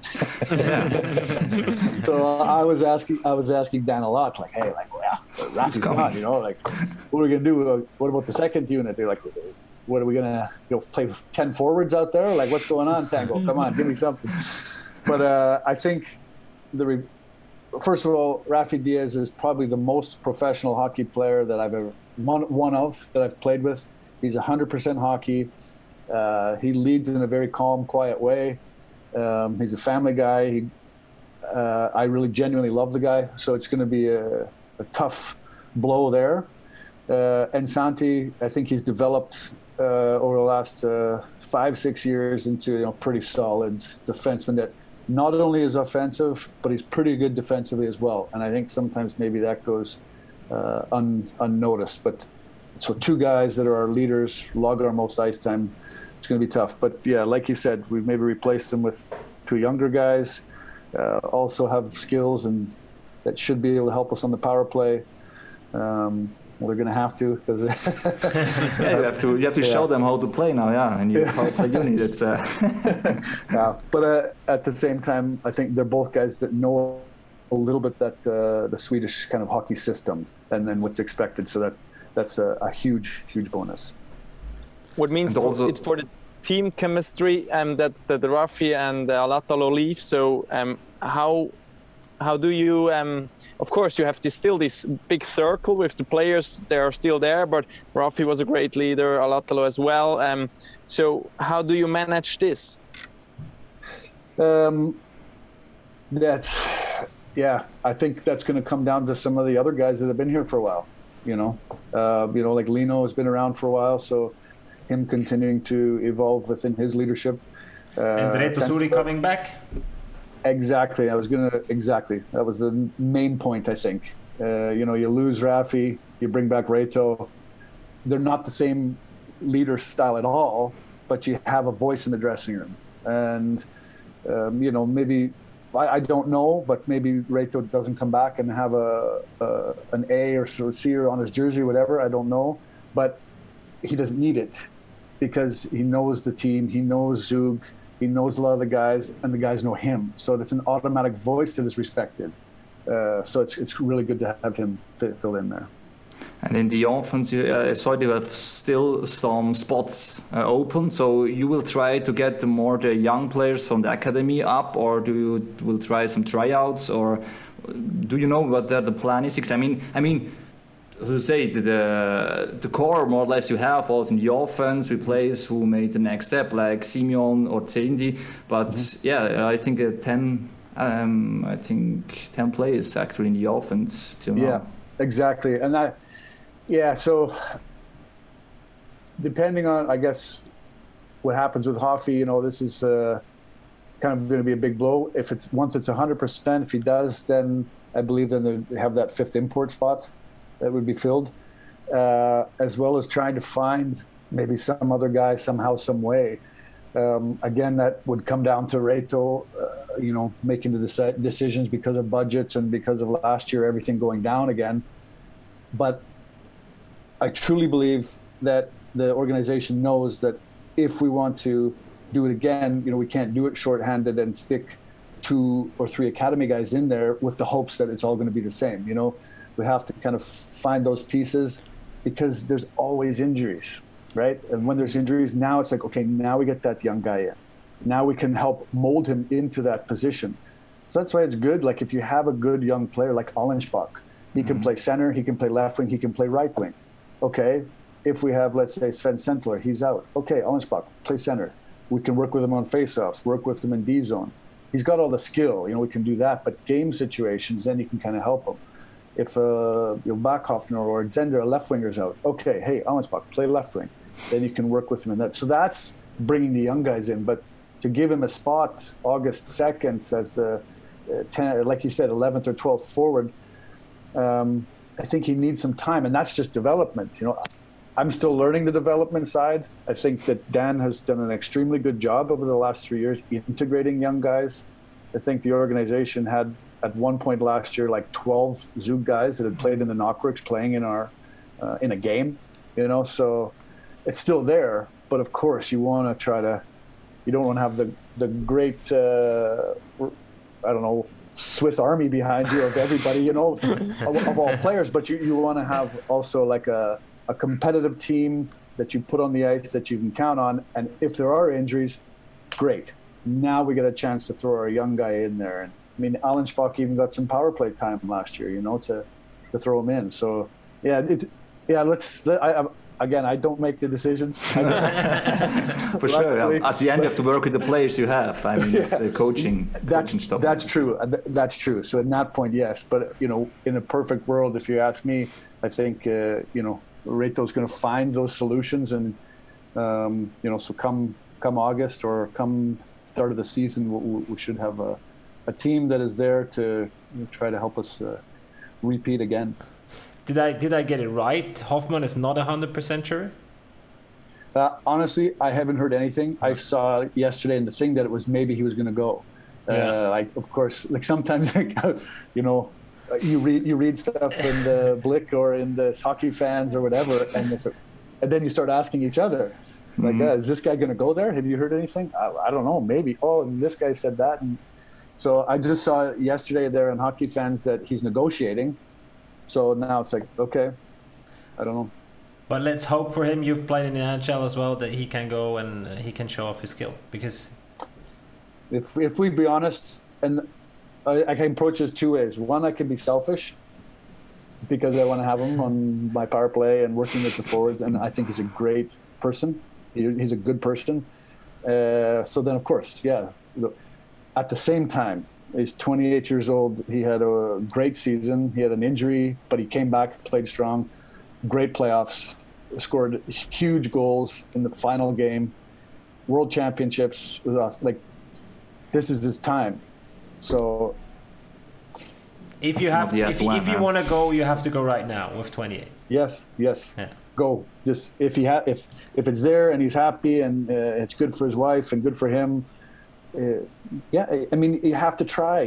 So I was asking Dan a lot, like, hey, like, well, Rafi's gone, you know, like, what are we gonna do? What about the second unit? They're like, what are we gonna play 10 forwards out there? Like, what's going on, Tango? Come on, give me something. But I think first of all, Rafi Diaz is probably the most professional hockey player that I've ever that I've played with. He's 100% hockey. He leads in a very calm, quiet way. He's a family guy. I really genuinely love the guy. So it's going to be a tough blow there. And Santi, I think he's developed over the last 5-6 years into pretty solid defenseman that not only is offensive, but he's pretty good defensively as well. And I think sometimes maybe that goes unnoticed. But so 2 guys that are our leaders, log our most ice time. It's going to be tough. But yeah, like you said, we've maybe replaced them with 2 younger guys, also have skills and that should be able to help us on the power play. Well, they're going to have to. Cause you have to show them how to play now, yeah. And you power play unit. It's yeah, but at the same time, I think they're both guys that know a little bit that the Swedish kind of hockey system and what's expected. So that's a huge bonus. What means it's for the team chemistry that Rafi and Alatalo leave. So how do you? Of course, you have still this big circle with the players. They are still there, but Rafi was a great leader, Alatalo as well. So how do you manage this? I think that's going to come down to some of the other guys that have been here for a while. Like Lino has been around for a while, so him continuing to evolve within his leadership. And Reto Suri coming back? Exactly. That was the main point, I think. You lose Rafi, you bring back Reto. They're not the same leader style at all, but you have a voice in the dressing room. And, maybe, I don't know, but maybe Reto doesn't come back and have an A or C on his jersey or whatever. I don't know. But he doesn't need it because he knows the team. He knows Zug. He knows a lot of the guys, and the guys know him. So it's an automatic voice that is respected. So it's really good to have him fill in there. And in the offense, I saw you have still some spots open. So you will try to get the young players from the academy up, or will try some tryouts, or do you know what the plan is? I mean, who say the core more or less you have also in the offense with players who made the next step like Simeon or Cindy, but I think 10 players actually in the offense till now. Yeah, exactly. And so depending on, I guess, what happens with Hoffy, this is kind of going to be a big blow. Once it's 100%, if he does, then I believe then they have that 5th import spot that would be filled, as well as trying to find maybe some other guy somehow, some way. Again, that would come down to Reto, making the decisions because of budgets and because of last year, everything going down again. But I truly believe that the organization knows that if we want to do it again, we can't do it shorthanded and stick 2 or 3 academy guys in there with the hopes that it's all going to be the same. We have to kind of find those pieces because there's always injuries, right? And when there's injuries, now it's like, okay, now we get that young guy in. Now we can help mold him into that position. So that's why it's good. Like if you have a good young player like Allenspach, He can play center, he can play left wing, he can play right wing. Okay, if we have, let's say, Sven Sentler, he's out. Okay, Allensbach, play center. We can work with him on faceoffs, work with him in D zone. He's got all the skill, we can do that. But game situations, then you can kind of help him. If Bachhoffner or Zender, a left winger's out, okay, hey, Allensbach, play left wing. Then you can work with him in that. So that's bringing the young guys in. But to give him a spot August 2nd as the 10, like you said, 11th or 12th forward, I think he needs some time, and that's just development. I'm still learning the development side. I think that Dan has done an extremely good job over the last 3 years integrating young guys. I think the organization had at one point last year like 12 Zug guys that had played in the Knockworks playing in our in a game. So it's still there, but of course you want to try to. You don't want to have the great Swiss Army behind you of everybody, of all players, but you want to have also like a competitive team that you put on the ice that you can count on. And if there are injuries, great. Now we get a chance to throw our young guy in there. And I mean, Allensbach even got some power play time last year, to throw him in. So I don't make the decisions. For sure. At the end, you have to work with the players you have. I mean, it's the coaching stuff. That's true. That's true. So at that point, yes. But, in a perfect world, if you ask me, I think, Reto's going to find those solutions. And, so come August or come start of the season, we should have a team that is there to try to help us repeat again. Did I get it right? Hoffman is not 100% sure? Honestly, I haven't heard anything. I saw yesterday in the thing that it was maybe he was going to go. Of course, sometimes, you read stuff in the Blick or in the Hockey Fans or whatever, and then you start asking each other, is this guy going to go there? Have you heard anything? I don't know. Maybe. Oh, and this guy said that. And so I just saw yesterday there in Hockey Fans that he's negotiating. So now it's like, okay, I don't know. But let's hope for him. You've played in the NHL as well, that he can go and he can show off his skill. Because if we be honest, and I can approach this two ways. One, I can be selfish because I want to have him on my power play and working with the forwards, and I think he's a great person. He's a good person. So then, of course, at the same time, he's 28 years old. He had a great season. He had an injury, but he came back, played strong, great playoffs, scored huge goals in the final game, World Championships. This is his time. So if you want to go, you have to go right now with 28. Yes. Yeah. Go. Just if it's there and he's happy and it's good for his wife and good for him. I mean, you have to try.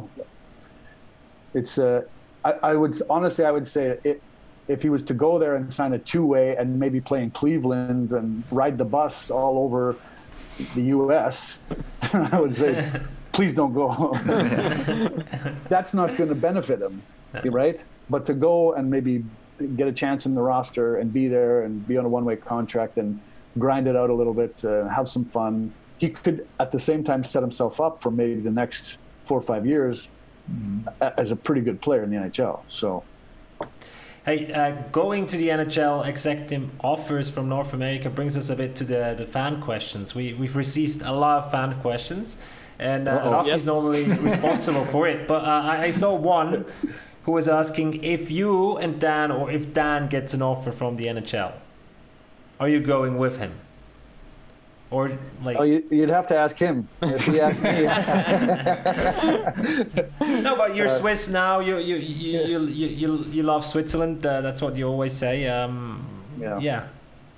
It's I would say if he was to go there and sign a two-way and maybe play in Cleveland and ride the bus all over the U.S., I would say, please don't go. That's not going to benefit him, right? But to go and maybe get a chance in the roster and be there and be on a one-way contract and grind it out a little bit, have some fun. He could, at the same time, set himself up for maybe the next 4 or 5 years as a pretty good player in the NHL. So, hey, going to the NHL, executive offers from North America brings us a bit to the fan questions. We've received a lot of fan questions, and Rafi's normally responsible for it. But I saw one who was asking if you and Dan, or if Dan gets an offer from the NHL, are you going with him? Or you'd have to ask him. If he asked me. No, but you're Swiss now. You love Switzerland. That's what you always say. Yeah.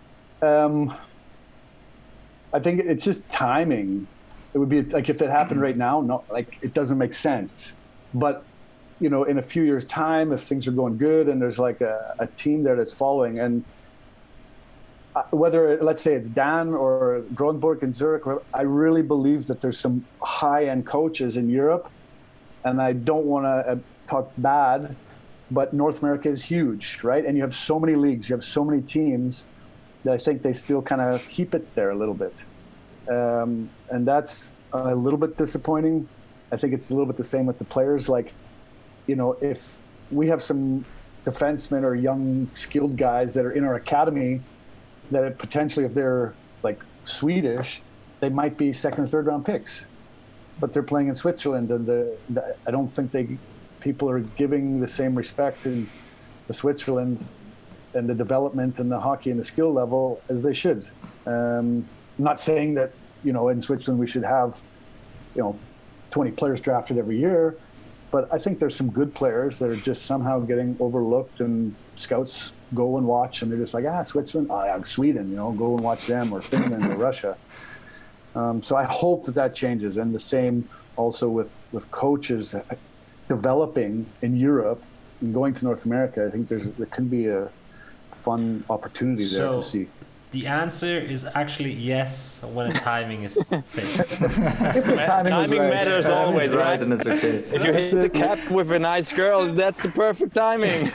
I think it's just timing. It would be like if it happened right now. No, it doesn't make sense. But in a few years' time, if things are going good and there's like a team there that's following and. Whether, let's say it's Dan or Grönborg in Zurich, I really believe that there's some high-end coaches in Europe, and I don't want to talk bad, but North America is huge, right? And you have so many leagues, you have so many teams that I think they still kind of keep it there a little bit. And that's a little bit disappointing. I think it's a little bit the same with the players. If we have some defensemen or young skilled guys that are in our academy that potentially, if they're like Swedish, they might be second or third round picks, but they're playing in Switzerland, and I don't think people are giving the same respect to the Switzerland and the development and the hockey and the skill level as they should. Not saying that, in Switzerland we should have, 20 players drafted every year, but I think there's some good players that are just somehow getting overlooked, and scouts go and watch, and they're just like, Switzerland, Sweden, go and watch them, or Finland or Russia. So I hope that changes, and the same also with coaches developing in Europe and going to North America. I think there can be a fun opportunity there to see. The answer is actually yes when the timing is fixed. If the timing matters always, right? And it's okay. If you hit the cap with a nice girl, that's the perfect timing.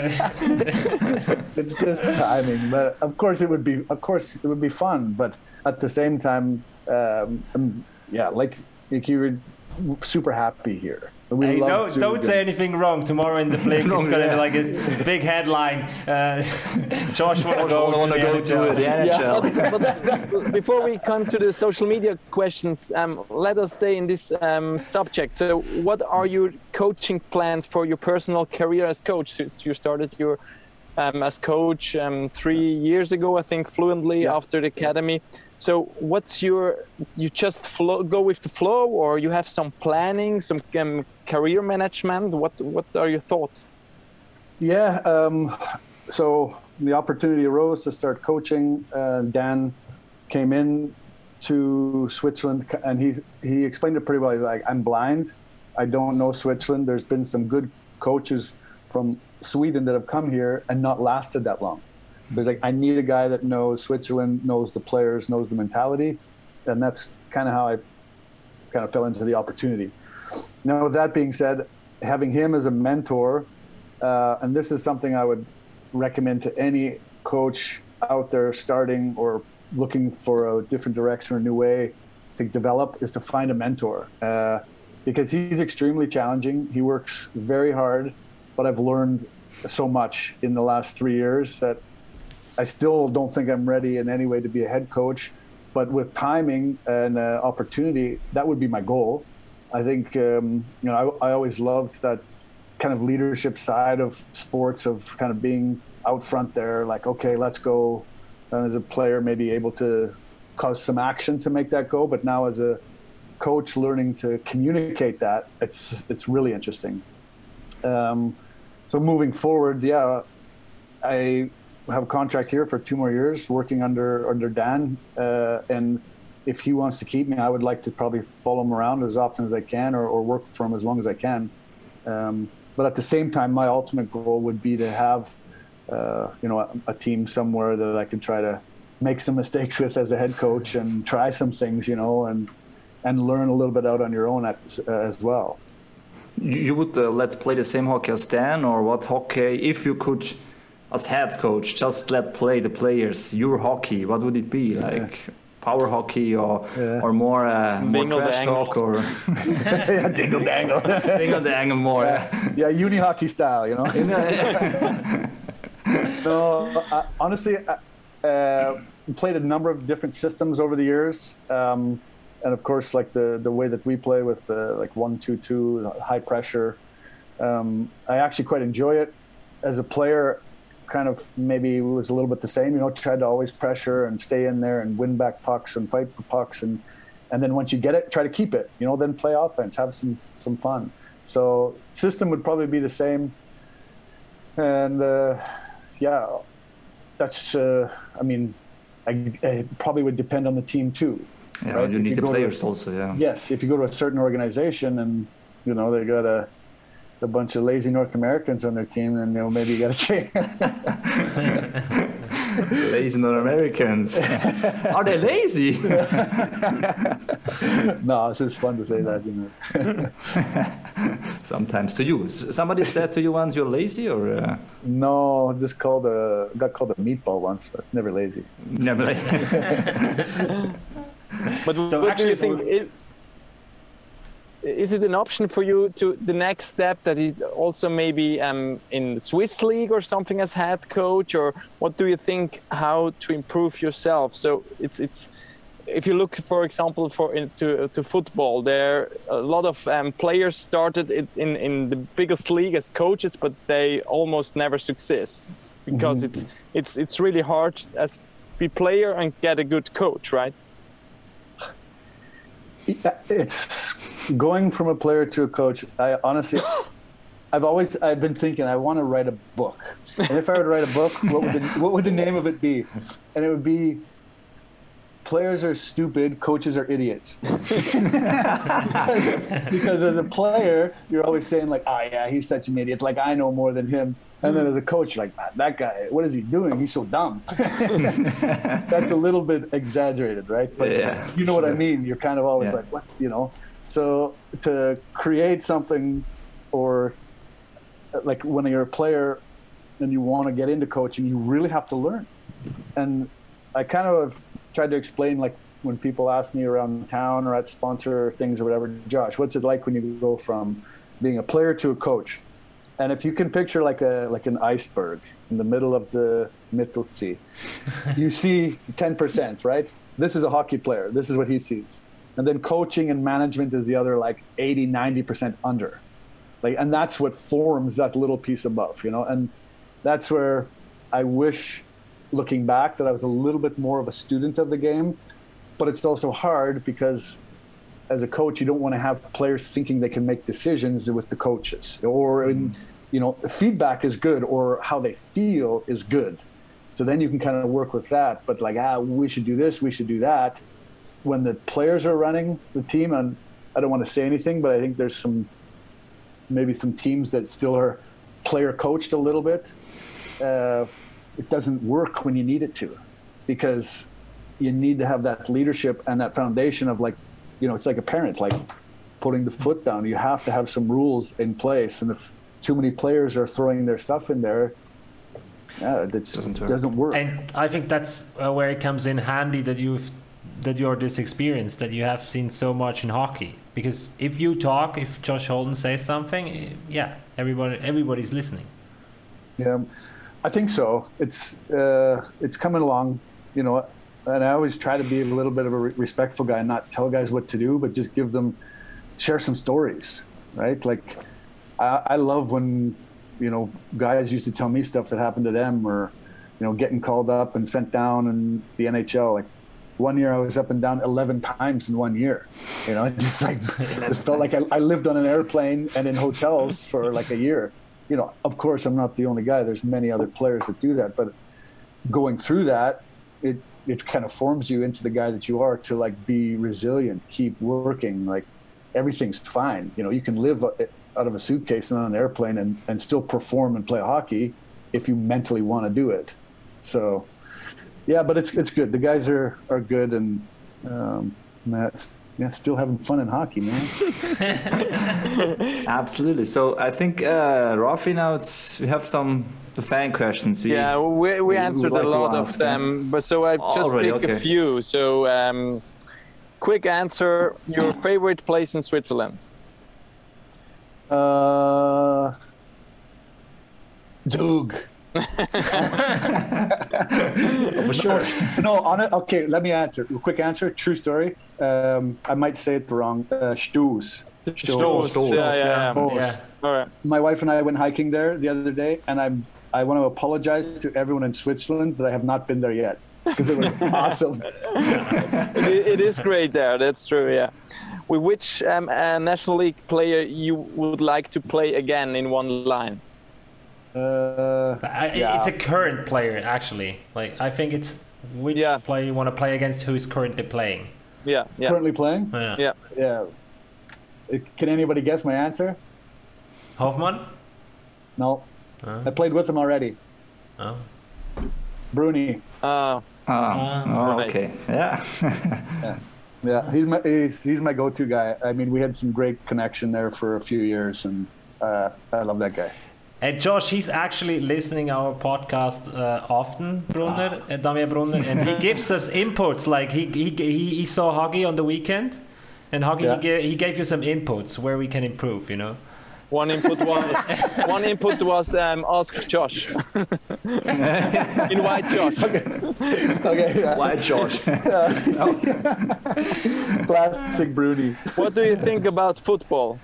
It's just timing, but of course it would be fun. But at the same time, like you were super happy here. Hey, don't say anything wrong. Tomorrow in the Blink, it's going to be like a big headline. Josh want to go to the NHL. But before we come to the social media questions, let us stay in this subject. So what are your coaching plans for your personal career as coach? You started your as coach 3 years ago, I think, fluently after the academy. So what's you just go with the flow, or you have some planning, some career management? What are your thoughts? Yeah, so the opportunity arose to start coaching. Dan came in to Switzerland, and he explained it pretty well. He's like, I'm blind. I don't know Switzerland. There's been some good coaches from Sweden that have come here and not lasted that long. There's like, I need a guy that knows Switzerland, knows the players, knows the mentality. And that's kind of how I kind of fell into the opportunity. Now, with that being said, having him as a mentor, and this is something I would recommend to any coach out there starting or looking for a different direction or a new way to develop, is to find a mentor. Because he's extremely challenging. He works very hard, but I've learned so much in the last 3 years that I still don't think I'm ready in any way to be a head coach, but with timing and opportunity, that would be my goal. I think, I always loved that kind of leadership side of sports, of kind of being out front there, like, okay, let's go. And as a player, maybe able to cause some action to make that go. But now as a coach, learning to communicate that, it's really interesting. So moving forward, I have a contract here for 2 more years working under Dan, and if he wants to keep me, I would like to probably follow him around as often as I can, or work for him as long as I can. But at the same time, my ultimate goal would be to have a team somewhere that I could try to make some mistakes with as a head coach and try some things, and learn a little bit out on your own as well. You would let's play the same hockey as Dan, or what hockey, if you could, as head coach, just let play the players your hockey, what would it be? Like power hockey, or more trash talk, or dingle dangle, dingle dangle more. Uni hockey style, No, honestly, played a number of different systems over the years. And of course, like the way that we play with like 1-2-2, high pressure, I actually quite enjoy it. As a player, kind of maybe was a little bit the same. Tried to always pressure and stay in there and win back pucks and fight for pucks, and then once you get it, try to keep it. Then play offense, have some fun. So system would probably be the same, and that's. I probably would depend on the team too. Yeah, right? you need the players also, yeah. Yes, if you go to a certain organization and, they got a bunch of lazy North Americans on their team, then, maybe you got to change. Lazy North Americans. Are they lazy? No, it's just fun to say that, Sometimes to you. Somebody said to you once you're lazy, or? No, just got called a meatball once, but never lazy. Never lazy. But so what do you think is it an option for you to the next step that is also maybe in the Swiss league or something as head coach, or what do you think how to improve yourself? So it's if you look, for example, to football, there a lot of players started in the biggest league as coaches, but they almost never success because it's really hard as be player and get a good coach, right? It's going from a player to a coach. I honestly, I've been thinking I want to write a book, and if I would write a book, what would the name of it be? And it would be Players Are Stupid, Coaches Are Idiots. because as a player, you're always saying like, oh yeah, he's such an idiot. Like I know more than him. And then as a coach, you're like, that guy, what is he doing? He's so dumb. That's a little bit exaggerated, right? But you know what I mean? You're kind of always like, what, you know? So to create something, or like when you're a player and you want to get into coaching, you really have to learn. And I kind of tried to explain, like when people ask me around town or at sponsor things or whatever, Josh, what's it like when you go from being a player to a coach? And if you can picture like an iceberg in the middle of the Mittelsee, you see 10%, right? This is a hockey player. This is what he sees. And then coaching and management is the other like 80, 90% under. Like, and that's what forms that little piece above, you know? And that's where I wish, looking back, that I was a little bit more of a student of the game. But it's also hard because as a coach, you don't want to have players thinking they can make decisions with the coaches, or you know, the feedback is good or how they feel is good. So then you can kind of work with that. But like, we should do this, we should do that. When the players are running the team, and I don't want to say anything, but I think there's maybe some teams that still are player coached a little bit. It doesn't work when you need it to, because you need to have that leadership and that foundation of like, you know, it's like a parent, like putting the foot down. You have to have some rules in place. And if too many players are throwing their stuff in there, it doesn't work. And I think that's where it comes in handy that you're this experience, that you have seen so much in hockey. Because if Josh Holden says something, everybody's listening. Yeah, I think so. It's coming along, you know. And I always try to be a little bit of a respectful guy and not tell guys what to do, but just share some stories, right? Like, I love when, you know, guys used to tell me stuff that happened to them, or, you know, getting called up and sent down in the NHL. Like, one year I was up and down 11 times in 1 year. You know, it's like, it felt like I lived on an airplane and in hotels for like a year. You know, of course, I'm not the only guy. There's many other players that do that. But going through that, it kind of forms you into the guy that you are, to like be resilient, keep working. Like everything's fine. You know, you can live out of a suitcase and on an airplane and still perform and play hockey if you mentally want to do it. So, yeah, but it's good. The guys are good, and still having fun in hockey, man. Absolutely. So I think, Rafi, now we have some fan questions. We answered a lot of them, but so I just pick a few. So quick answer: your favorite place in Switzerland? Zug. For sure. No, okay, let me answer. Quick answer, true story. I might say it wrong. Stoos. Yeah. All right. My wife and I went hiking there the other day, and I want to apologize to everyone in Switzerland that I have not been there yet, because it was awesome. It is great there. That's true. Yeah. With which National League player you would like to play again in one line? It's a current player, actually. Like, I think it's which player you want to play against who is currently playing. Yeah. Currently playing? Yeah. Can anybody guess my answer? Hoffman? No. I played with him already. Oh. Bruni. Okay. Yeah. Yeah. He's my go-to guy. I mean, we had some great connection there for a few years, and I love that guy. And Josh, he's actually listening our podcast often, Damian Brunner, and he gives us inputs. Like he saw hockey on the weekend, And Hoggy, he gave you some inputs where we can improve, you know? One input was ask Josh. Invite Josh. Okay. White Josh. Classic Bruni. What do you think about football?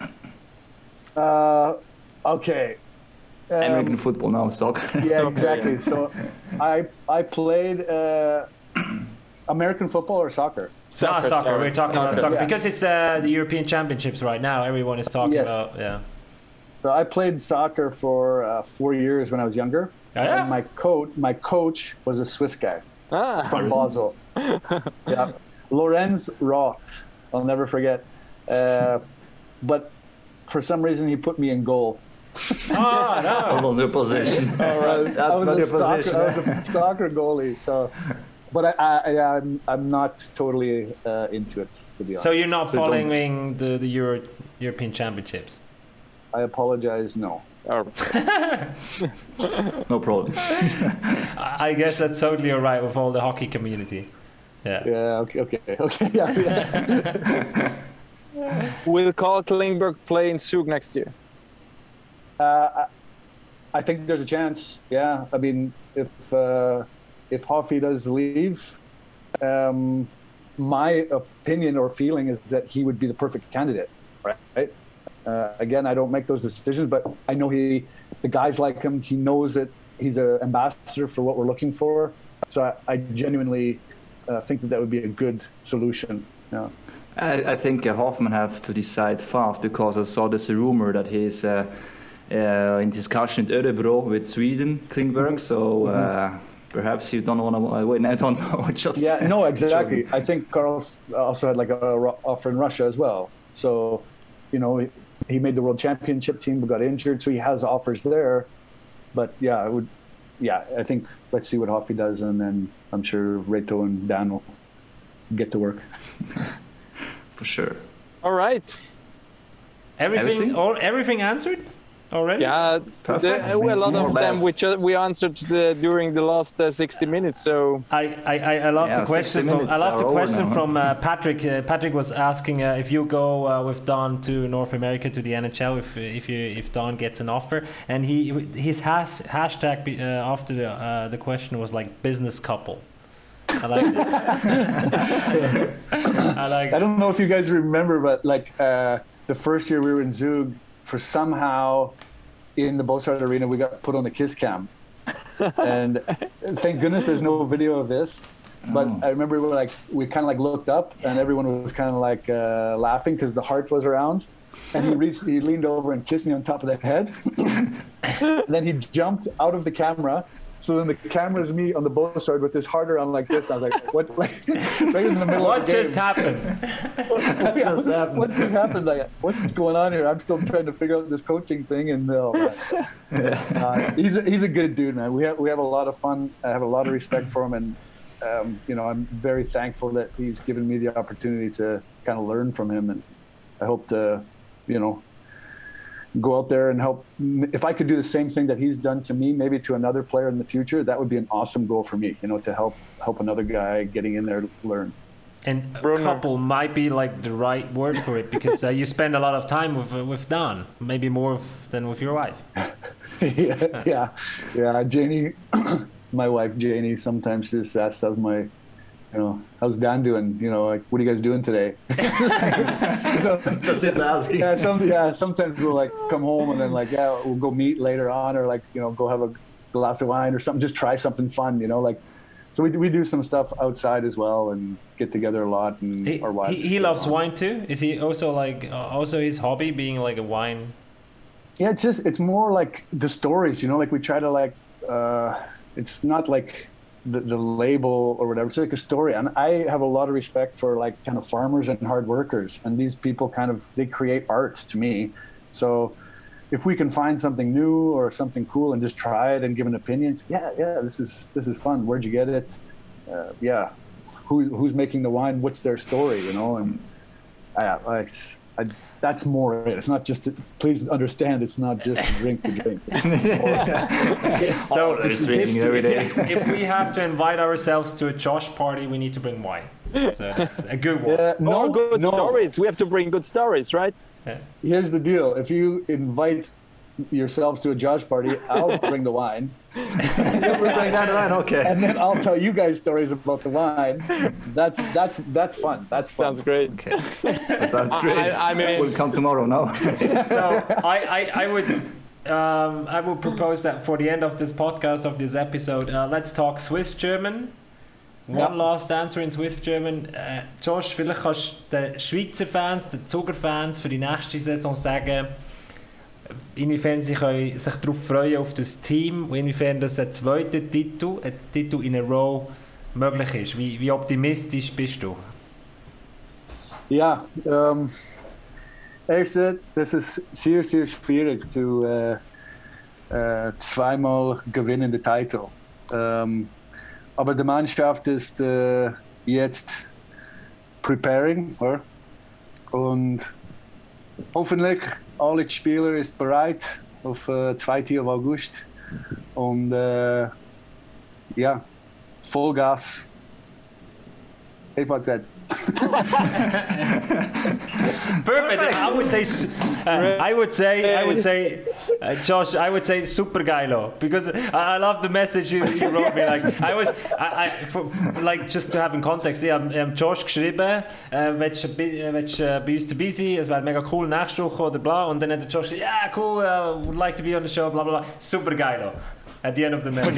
Okay. American football now, soccer. Yeah, exactly. So I played American football or soccer? Soccer. We're talking about soccer Yeah. because it's the European Championships right now. Everyone is talking Yes. about, yeah. So I played soccer for 4 years when I was younger. Oh, yeah? And my coach was a Swiss guy from Basel. Yeah, Lorenz Roth. I'll never forget. But for some reason, he put me in goal. Oh, no. Hold on, your position. All right. That's not your position. I was a soccer goalie. So, but I'm not totally into it, to be honest. So you're not following the European Championships? I apologize. No. No problem. I guess that's totally all right with all the hockey community. Yeah. Yeah. Okay. Yeah. Will Carl Klingberg play in Zug next year? I think there's a chance. Yeah. I mean, if Hoffy does leave, my opinion or feeling is that he would be the perfect candidate. Right. Again, I don't make those decisions, but I know the guys like him. He knows that he's an ambassador for what we're looking for. So I genuinely think that would be a good solution. Yeah. I think Hoffman has to decide fast because I saw this rumor that he's in discussion at Örebro with Sweden, Klingberg. So perhaps you don't want to win. I don't know. Just yeah, no, exactly. I think Carl's also had like a offer in Russia as well. So, you know, he made the World Championship team but got injured, so he has offers there. But yeah, I think let's see what Hoffy does, and then I'm sure Reto and Dan will get to work. For sure. All right. Everything answered already? Yeah, Perfect. a lot More of or them less. we answered during the last 60 minutes. So I love the question. From Patrick. Patrick was asking if you go with Don to North America to the NHL if Don gets an offer, and his hashtag after the question was like business couple. I like it. I don't know if you guys remember, but like the first year we were in Zug, for somehow in the Bosard Arena we got put on the kiss cam, and thank goodness there's no video of this. But I remember we kind of like looked up and everyone was kind of like laughing because the heart was around, and he leaned over and kissed me on top of the head, and then he jumped out of the camera. So then the camera's me on the Bosard with this heart around like this. I was like, what? Like, right in the middle of the game. What just happened? What just happened? Like, what's going on here? I'm still trying to figure out this coaching thing. And he's a good dude, man. We have a lot of fun. I have a lot of respect for him, and you know, I'm very thankful that he's given me the opportunity to kind of learn from him, and I hope to, you know, go out there and help. If I could do the same thing that he's done to me, maybe to another player in the future, that would be an awesome goal for me, you know, to help another guy getting in there to learn. And couple might be like the right word for it, because you spend a lot of time with Don, maybe more than with your wife. yeah. Janie, my wife Janie, sometimes just asks how's Dan doing? You know, like, what are you guys doing today? So, just asking. Sometimes we'll like come home and then like, we'll go meet later on, or like, you know, go have a glass of wine or something, just try something fun, you know, like, so we do some stuff outside as well and get together a lot. And our wives. He loves wine too? Is he also like, also his hobby being like a wine? Yeah, it's more like the stories, you know, like we try to like, it's not like the label or whatever. It's like a story, and I have a lot of respect for like kind of farmers and hard workers, and these people they create art to me. So if we can find something new or something cool and just try it and give an opinion, this is fun. Where'd you get it? Who's making the wine? What's their story? You know, and that's more it. It's not just please understand, it's not just drink the drink. So if we have to invite ourselves to a Josh party, we need to bring wine. So that's a good one. All good stories. We have to bring good stories, right? Here's the deal: if you invite yourselves to a Josh party, I'll bring the wine, Okay. and then I'll tell you guys stories about the wine. That's fun. That's fun. Sounds great. Okay. That sounds great. I mean- we'll come tomorrow, no? So I would propose that for the end of this podcast, of this episode, let's talk Swiss German. One last answer in Swiss German. Josh, vielleicht kannst du den Schweizer Fans, den Zuger-Fans für die nächste Saison sagen, inwiefern sie können sich darauf freuen auf das Team und inwiefern das ein Titel in a row möglich ist. Wie optimistisch bist du? Ja, erste, das ist sehr, sehr schwierig zu zweimal gewinnen den Titel. Aber die Mannschaft ist jetzt preparing, oder? Und hoffentlich alle Spieler sind bereit auf 2. August. Und ja, Vollgas. Ich habe gesagt. Perfect. I would say, Josh, I would say super geilo, because I love the message you wrote me. Like like just to have in context, ich habe Josh geschrieben, willst du bei uns dabei sein? Es wäre mega cool nächste Woche oder bla. Und dann hat der Josh gesagt, yeah, cool, would like to be on the show, bla bla bla. Super geilo. At the end of the message.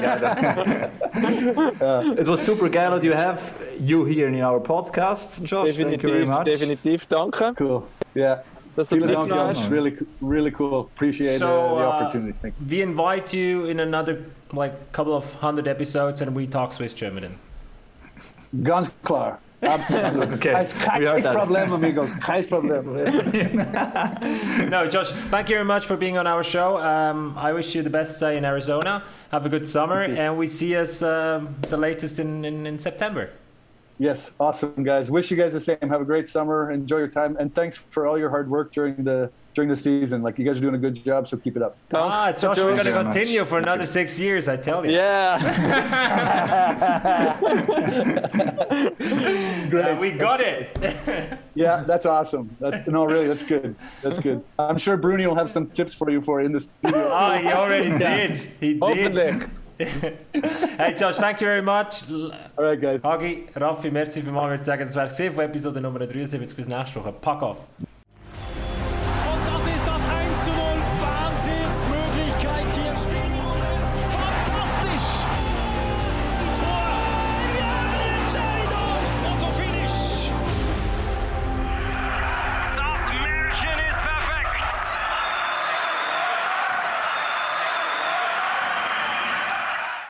It was super geil that you have you here in our podcast, Josh. Thank you very much. Definitiv, danke. Cool. Yeah. Dass du Vielen Zeit Dank, hast. Josh. Really cool. Appreciate the opportunity. Thank you. We invite you in another couple of 100 episodes and we talk Swiss German. Ganz klar. Absolut. Okay. Kein Problem, amigos. Kein Problem. No, Josh, thank you very much for being on our show. I wish you the best in Arizona. Have a good summer, and we see us the latest in September. Yes, awesome, guys. Wish you guys the same. Have a great summer. Enjoy your time, and thanks for all your hard work during the season. Like, you guys are doing a good job, so keep it up. Josh, we're going to very continue much. for another 6 years, I tell you. Yeah. We got it. Yeah, that's awesome. Really, that's good. That's good. I'm sure Bruni will have some tips for you in the studio. Oh, he already did. He did. Hoffentlich. Hey Josh, thank you very much. Alright, guys. Hagi, Raffi, merci vielmals. Ich würde sagen, das wäre es von Episode Nummer 73. Bis nächste Woche. Pack auf.